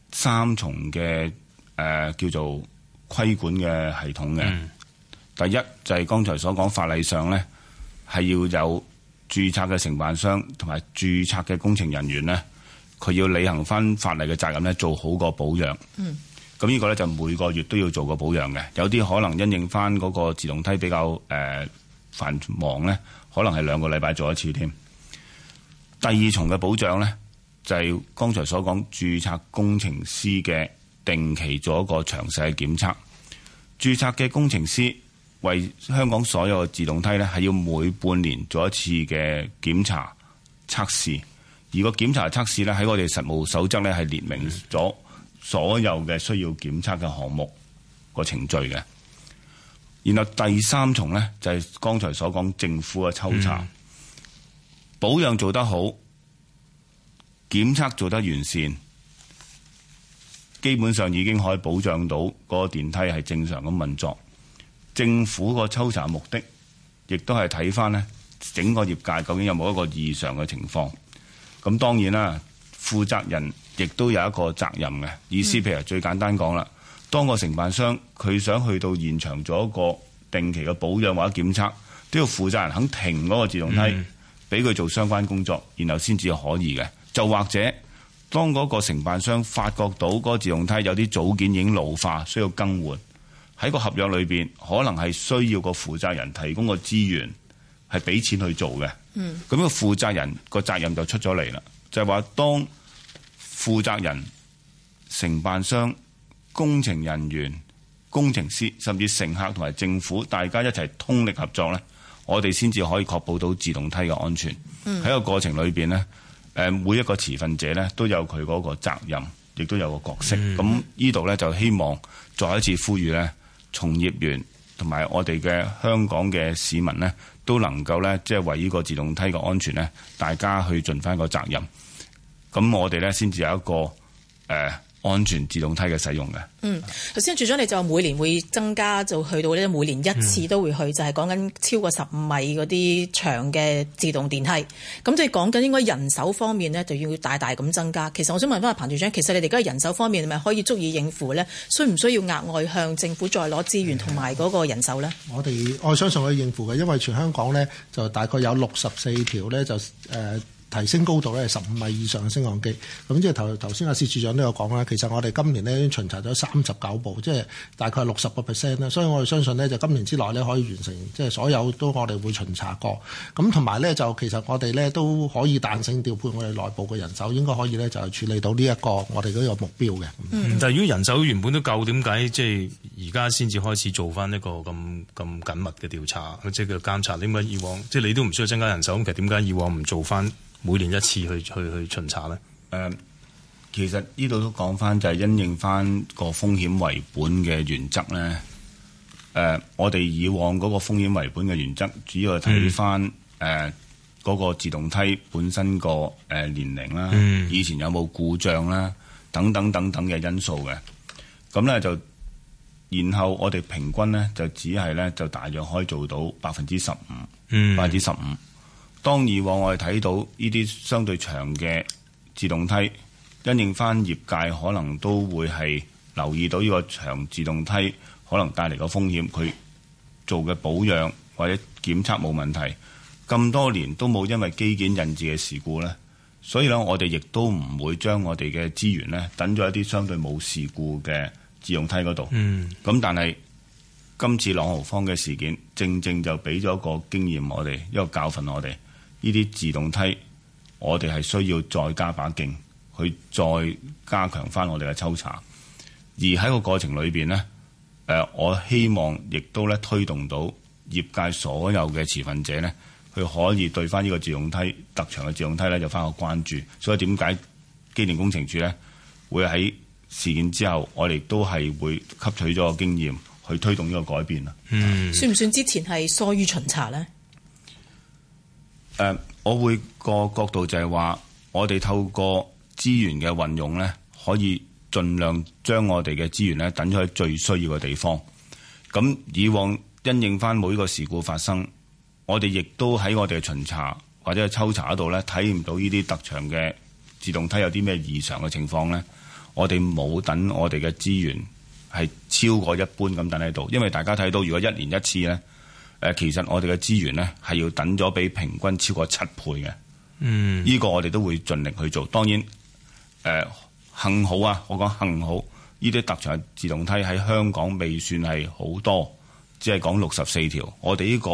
3重嘅叫做規管嘅系統嘅。第一就係剛才所講法例上咧，係要有註冊嘅承辦商同埋註冊嘅工程人員咧，佢要履行翻法例嘅責任咧，做好個保養。咁呢個咧就每個月都要做個保養嘅。有啲可能因應翻嗰個自動梯比較繁忙咧，可能係2個禮拜做一次添。第2重嘅保障咧，就係剛才所講註冊工程師嘅定期做一個詳細嘅檢測。註冊嘅工程師為香港所有嘅自動梯咧，係要每半年做一次嘅檢查測試，而個檢查測試咧喺我哋實務守則咧係列明咗所有嘅需要檢測嘅項目個程序嘅。然後第3重咧就係剛才所講政府嘅抽查，保養做得好，檢測做得完善，基本上已經可以保障到嗰個電梯係正常咁運作。政府個抽查目的，亦都係睇翻呢整個業界究竟有冇一個異常嘅情況。咁當然啦，負責人亦都有一個責任嘅意思。譬如最簡單講啦，當個承辦商佢想去到現場做一個定期嘅保養或者檢測，都要負責人肯停嗰個自動梯，俾佢做相關工作，然後先至可以嘅。就或者當嗰個承辦商發覺到嗰個自動梯有啲組件已經老化，需要更換。喺個合約裏邊，可能係需要個負責人提供個資源，係俾錢去做嘅。咁個負責人個責任就出咗嚟啦，就係話當負責人、承辦商、工程人員、工程師，甚至乘客同埋政府，大家一齊通力合作咧，我哋先至可以確保到自動梯嘅安全。喺個過程裏邊咧，每一個持份者咧都有佢嗰個責任，亦都有個角色。咁呢度咧就希望再一次呼籲咧，從業員同埋我哋嘅香港嘅市民呢，都能夠呢，即係為呢個自動梯嘅安全呢，大家去盡翻個責任。咁我哋呢，先至有一個安全自動梯嘅使用嘅。 頭先處長你就話每年會增加，就去到呢每年1次都會去，就係講緊超過15米嗰啲長嘅自動電梯。咁即係講緊應該人手方面呢，就要大大咁增加。其實我想問翻阿彭處長，其實你哋而家人手方面係咪可以足以應付呢？需唔需要額外向政府再攞資源同埋嗰個人手呢？ 我相信可以應付嘅，因為全香港呢，就大概有64條呢，就提升高度咧係15米以上嘅升降機，咁即係頭先阿薛處長都有講啦。其實我哋今年呢已經巡查咗39部，即係大概60% 啦。所以我哋相信呢，就今年之內呢可以完成，即係所有都我哋會巡查過。咁同埋呢，就其實我哋呢都可以彈性調配我哋內部嘅人手，應該可以呢就係處理到呢一個我哋嗰個目標嘅。 但係如果人手原本都夠，點解即係而家先至開始做翻一個咁緊密嘅調查，即係叫監察？點解以往即係你都唔需要增加人手，咁其實點解以往唔做翻每年1次去巡查咧？ 其實呢度都講翻就係因應翻個風險為本嘅原則咧。我哋以往嗰個風險為本嘅原則，主要係睇翻嗰個自動梯本身個年齡啦，以前有冇故障啦，等等嘅因素嘅。咁咧就，然後我哋平均咧就只係咧就大約可以做到15%。當以往我哋睇到呢啲相對長嘅自動梯，因應翻業界可能都會係留意到呢個長自動梯可能帶嚟個風險，佢做嘅保養或者檢測冇問題，咁多年都冇因為機件引致嘅事故呢。所以咧我哋亦都唔會將我哋嘅資源呢等咗一啲相對冇事故嘅自動梯嗰度。咁但係今次朗豪坊嘅事件，正就俾咗個經驗我哋，一個教訓我哋。呢啲自動梯，我哋係需要再加把勁，去再加強翻我哋嘅抽查。而喺個過程裏邊呢，我希望亦都咧推動到業界所有嘅持份者呢，佢可以對翻呢個自動梯特長嘅自動梯咧，有翻個關注。所以點解機電工程署呢會喺事件之後，我哋都係會吸取咗個經驗，去推動呢個改變啊。 算唔算之前係疏於巡查呢？ 我會個角度就係話，我哋透過資源嘅運用呢，可以盡量將我哋嘅資源呢等咗喺最需要嘅地方。咁以往因應翻每個事故發生，我哋亦都喺我哋嘅巡查或者係抽查嗰度呢，睇唔到呢啲特長嘅自動梯有啲咩異常嘅情況呢，我哋冇等我哋嘅資源係超過一般咁等喺度，因為大家睇到如果一年一次呢，其實我哋嘅資源呢係要等咗比平均超過7倍嘅。呢個我哋都會盡力去做。當然幸好啊，我講幸好，呢啲特長自動梯喺香港未算係好多，只係講64條。我哋呢個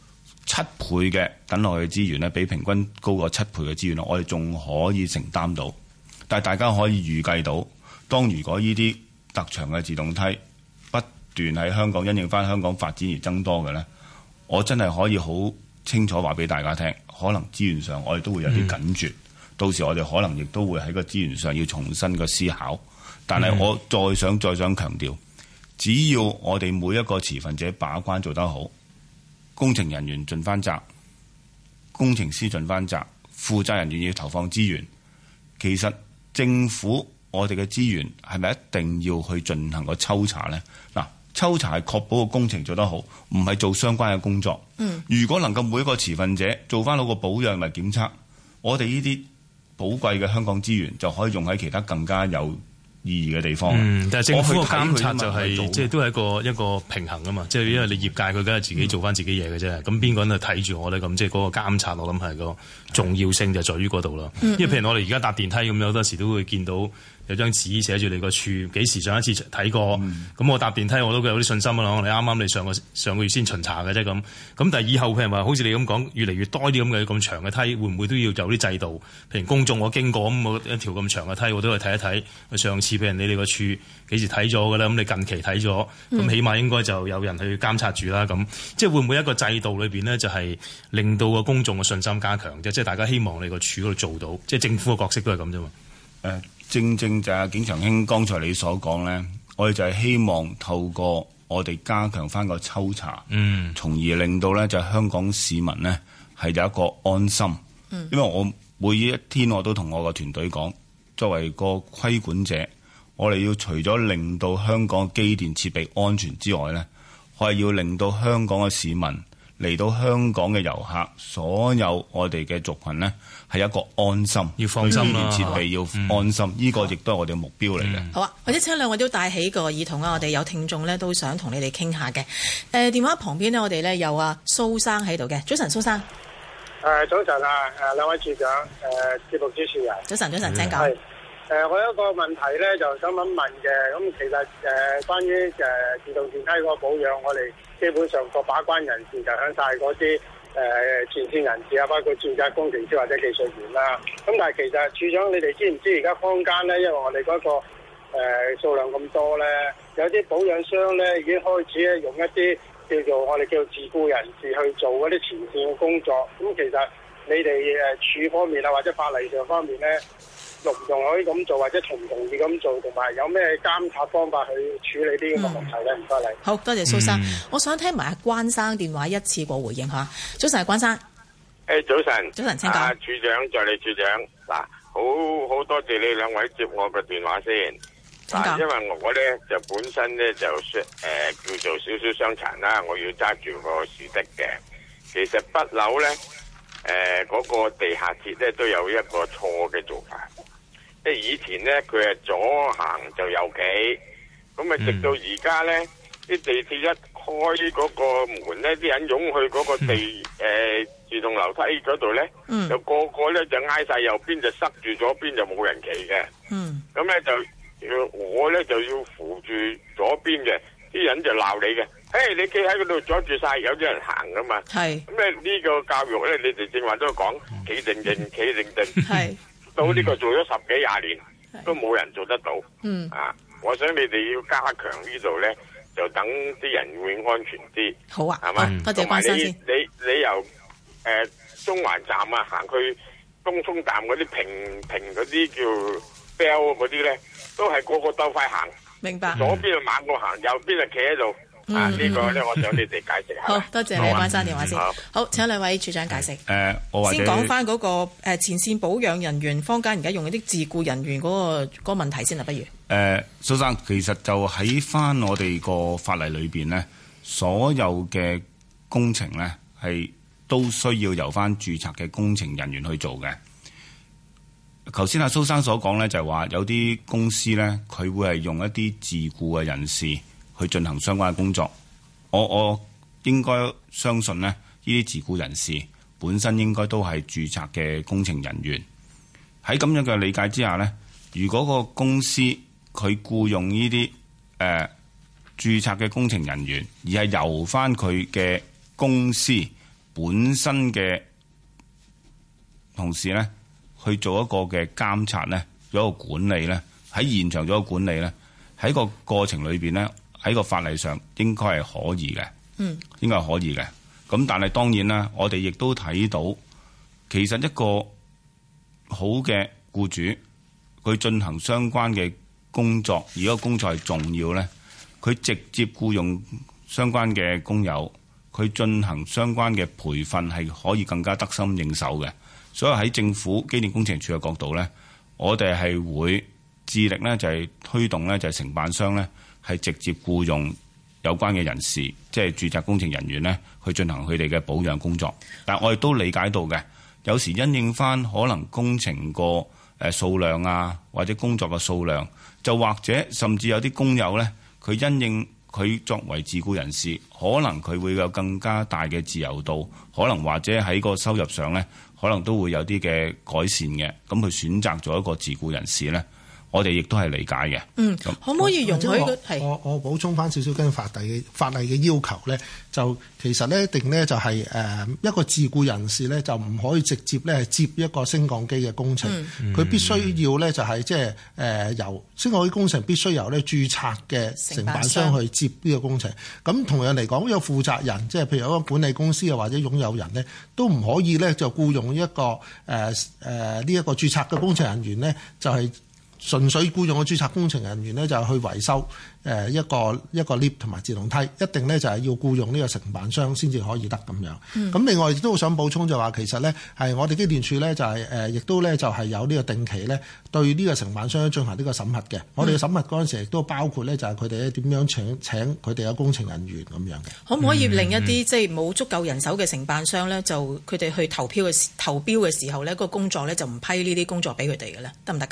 7倍嘅等落去嘅資源呢，比平均高過7倍嘅資源，我哋仲可以承擔到。但係大家可以預計到，當如果呢啲特長嘅自動梯不斷喺香港因應翻香港發展而增多嘅呢，我真係可以好清楚話俾大家聽，可能資源上我哋都會有啲緊絀。到時我哋可能亦都會喺個資源上要重新嘅思考。但係我再想強調，只要我哋每一個持份者把關做得好，工程人員盡翻責，工程師盡翻責，負責人員要投放資源，其實政府我哋嘅資源係咪一定要去進行個抽查呢？嗱，抽查係確保個工程做得好，唔係做相關嘅工作。如果能夠每一個持份者做翻好個保養同埋檢測，我哋呢啲寶貴嘅香港資源就可以用喺其他更加有意義嘅地方。 但係政府嘅監察就係即係都係一個平衡啊嘛。即係因為你業界佢梗係自己做翻自己嘢嘅啫。咁邊個人去睇住我咧？咁即係嗰個監察，我諗係個重要性就在於嗰度咯。因為譬如我哋而家搭電梯咁樣，好多時都會見到有張紙寫住你個處幾時上一次睇過。咁我搭電梯我都有啲信心啊。你啱啱你上個月先巡查嘅啫咁。咁但係以後譬如話好似你咁講，越嚟越多啲咁嘅咁長嘅梯，會唔會都要有啲制度？譬如公眾我經過咁，我一條咁長嘅梯我都去睇一睇。上次譬如你哋個處幾時睇咗嘅咧？咁你近期睇咗，咁起碼應該就有人去監察住啦。咁即係會唔會一個制度裏邊呢，就係令到個公眾嘅信心加強啫？即係大家希望你個處嗰度做到，即係政府嘅角色都係咁啫嘛。 正就係景祥兄剛才你所講呢，我哋就係希望透過我哋加強翻個抽查，從而令到呢就香港市民呢係有一個安心。因為我每一天我都同我個團隊講，作為個規管者，我哋要除咗令到香港機電設備安全之外呢，我係要令到香港嘅市民嚟到香港嘅遊客，所有我哋嘅族群呢係一個安心， 要放心啦， 設備要安心，呢個亦都係我哋嘅目標嚟嘅。 好啊，或者請兩位都帶起個耳筒啊，我哋有聽眾呢都想同你哋傾下嘅。電話旁邊呢，我哋呢有蘇生喺度嘅。早晨，蘇生。 早晨啊，兩位處長，節目主持人。 早晨，請講。 我有一個問題咧，就想問嘅。咁其實關於自動電梯嗰個保養，我哋基本上個把關人士就響晒嗰啲前線人士啊，包括專責工程師或者技術員啦。咁但係其實處長，你哋知唔知而家坊間咧，因為我哋嗰個數量咁多咧，有啲保養商咧已經開始咧用一啲叫做我哋叫自僱人士去做嗰啲前線嘅工作。咁其實你哋處方面啊，或者法例上方面咧，容唔容許咁做，或者同唔同意咁做，同埋有咩監察方法去處理呢個問題咧？唔該你。 好多謝蘇生，我想聽埋阿關生電話一次過回應下。早晨，關生。 早晨。 早晨，請講。 處長，助理處長，嗱，好多謝你兩位接我嘅電話先。因為我咧就本身咧就叫做少少傷殘啦，我要揸住個豎的嘅。其實北樓咧嗰個地下鐵咧都有一個錯嘅做法，即係以前咧佢係左行就右企，咁啊直到而家咧啲地鐵一開嗰個門咧，啲人湧去嗰個自動樓梯嗰度咧，就個個咧就挨晒右邊，就塞住左邊就冇人企嘅。咁咧我咧就要扶住左邊嘅，啲人就鬧你嘅。你企喺嗰度阻住晒，有啲人行噶嘛。係咁咧，呢個教育咧，你哋正話都講企定定，企定定。係到呢個做咗10幾20年，都冇人做得到。我想你哋要加強呢度咧，就等啲人會安全啲。好啊，係嘛？多謝關生先。你由中環站啊行去東涌站嗰啲平嗰啲叫 bell 嗰啲咧，都係個個鬥快行。明白。左邊就猛過行，右邊就企喺度。 呢個咧，我想你哋解釋下。 好多謝你，關生電話先。好，請兩位處長解釋。 我先講翻嗰個前線保養人員，坊間而家用嗰啲自僱人員嗰個問題先啦，不如。 蘇生，其實就喺翻我哋個法例裏邊呢，所有嘅工程呢係都需要由翻註冊嘅工程人員去做嘅。頭先阿蘇生所講呢，就係話有啲公司呢，佢會係用一啲自僱嘅人士去進行相關嘅工作。我應該相信呢，呢啲自僱人士本身應該都係註冊嘅工程人員。喺咁樣嘅理解之下呢，如果個公司佢僱用呢啲註冊嘅工程人員，而係由翻佢嘅公司本身嘅同事呢去做一個嘅監察呢，做一個管理呢，喺現場做一個管理呢，喺個過程裏邊呢，喺個法例上應該係可以嘅，應該係可以嘅。咁但係當然啦，我哋亦都睇到，其實一個好嘅僱主，佢進行相關嘅工作，而嗰個工作係重要呢，佢直接僱用相關嘅工友，佢進行相關嘅培訓係可以更加得心應手嘅。所以喺政府機電工程署嘅角度呢，我哋係會致力呢，就係推動呢，就係承辦商呢，係直接僱用有關嘅人士，即係註冊工程人員呢，去進行佢哋嘅保養工作。但我亦都理解到嘅，有時因應翻可能工程個數量啊，或者工作嘅數量，就或者甚至有啲工友呢，佢因應佢作為自僱人士，可能佢會有更加大嘅自由度，可能或者喺個收入上呢，可能都會有啲嘅改善嘅。咁佢選擇咗一個自僱人士呢，我哋亦都係理解嘅。 可唔可以容許我補充翻少少跟法例嘅要求呢？就其實呢，一定呢就係一個自僱人士呢，就唔可以直接呢接一個升降機嘅工程，佢必須要呢就係即係由升降機工程必須由呢註冊嘅承辦商去接呢個工程。咁同樣嚟講，有負責人即係譬如一個管理公司啊或者擁有人呢，都唔可以呢就僱用一個呢一個註冊嘅工程人員呢，就係純粹僱用嘅註冊工程人員呢，就去維修一個 lift 同埋自動梯，一定呢就係要僱用呢個承辦商先至可以得咁樣。咁另外亦都想補充就話，其實呢係我哋機電署呢，就係亦都呢就係有呢個定期呢對呢個承辦商進行呢個審核嘅。我哋嘅審核嗰陣時亦都包括呢，就係佢哋咧點樣請佢哋嘅工程人員咁樣嘅。 可唔可以令一啲即係冇足夠人手嘅承辦商呢，就佢哋去投標嘅時候呢，個工作呢就唔批呢啲工作俾佢哋嘅咧，得唔得㗎？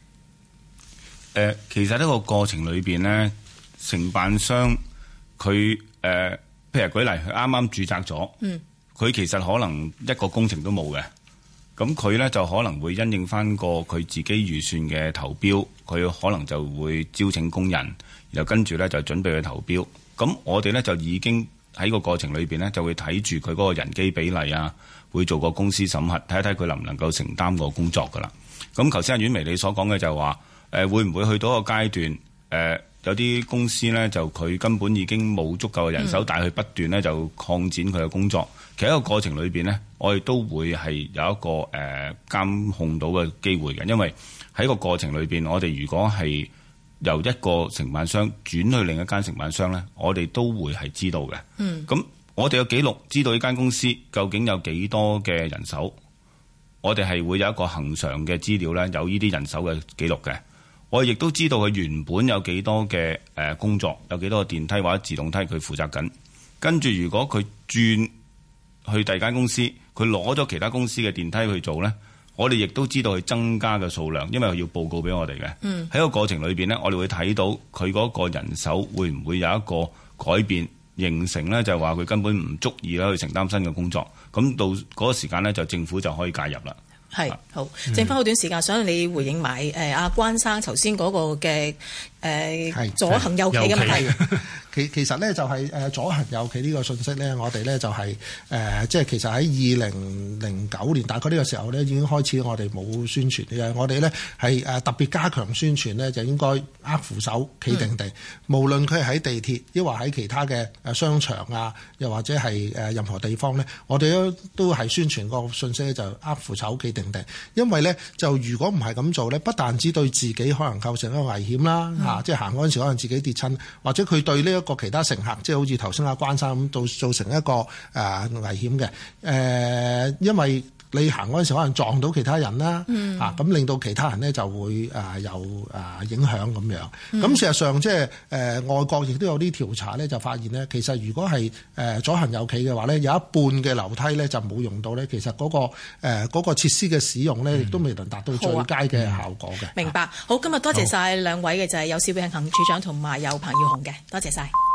其實呢個過程裏邊呢，承辦商佢譬如舉例，佢啱啱註冊咗，佢其實可能一個工程都冇嘅，咁佢呢就可能會因應翻個佢自己預算嘅投標，佢可能就會招請工人，然後跟住呢就準備去投標。咁我哋呢就已經喺個過程裏邊呢，就會睇住佢嗰個人機比例啊，會做個公司審核，睇一睇佢能唔能夠承擔個工作噶啦。咁頭先阿婉薇你所講嘅就係話，會唔會去到一個階段？有啲公司呢，就佢根本已經冇足夠嘅人手，但係佢不斷呢就擴展佢嘅工作。其實喺個過程裏邊呢，我哋都會係有一個監控到嘅機會嘅，因為喺個過程裏邊，我哋如果係由一個承辦商轉去另一間承辦商呢，我哋都會係知道嘅。咁我哋有記錄知道呢間公司究竟有幾多嘅人手，我哋係會有一個恆常嘅資料呢，有呢啲人手嘅記錄嘅。我亦都知道佢原本有幾多嘅工作，有幾多個電梯或者自動梯佢負責緊。跟住如果佢轉去第二間公司，佢攞咗其他公司嘅電梯去做呢，我哋亦都知道佢增加嘅數量，因為佢要報告俾我哋嘅。喺個過程裏邊呢，我哋會睇到佢嗰個人手會唔會有一個改變，形成呢就係話佢根本唔足以去承擔新嘅工作。咁到嗰個時間呢，就政府就可以介入啦。 係好，剩翻好短時間，想你回應埋阿關生頭先嗰個嘅左行右企嘅問題。 其實呢，就係左行右企呢個信息呢，我哋呢就係即係其實喺2009年大概呢個時候呢已經開始我哋冇宣傳嘅，我哋呢係特別加強宣傳呢，就應該握扶手企定定，無論佢係喺地鐵，抑或喺其他嘅商場啊，又或者係任何地方呢，我哋都係宣傳個信息就握扶手企定定，因為呢，就如果唔係咁做呢，不但只對自己可能構成一個危險啦即係行嗰陣時可能自己跌親，或者佢對呢一個其他乘客，即係好似頭先阿關生咁，造成一個危險嘅因為你行嗰陣時可能撞到其他人啦，咁令到其他人呢就會有影響咁樣。咁事實上即係外國亦都有啲調查呢，就發現呢，其實如果係左行右企嘅話呢，有一半嘅樓梯呢就冇用到呢。其實嗰個設施嘅使用呢，亦都未能達到最佳嘅效果嘅。 明白。好，今日多謝晒兩位嘅，就係有薛永恒處長同埋有彭耀雄嘅，多謝晒。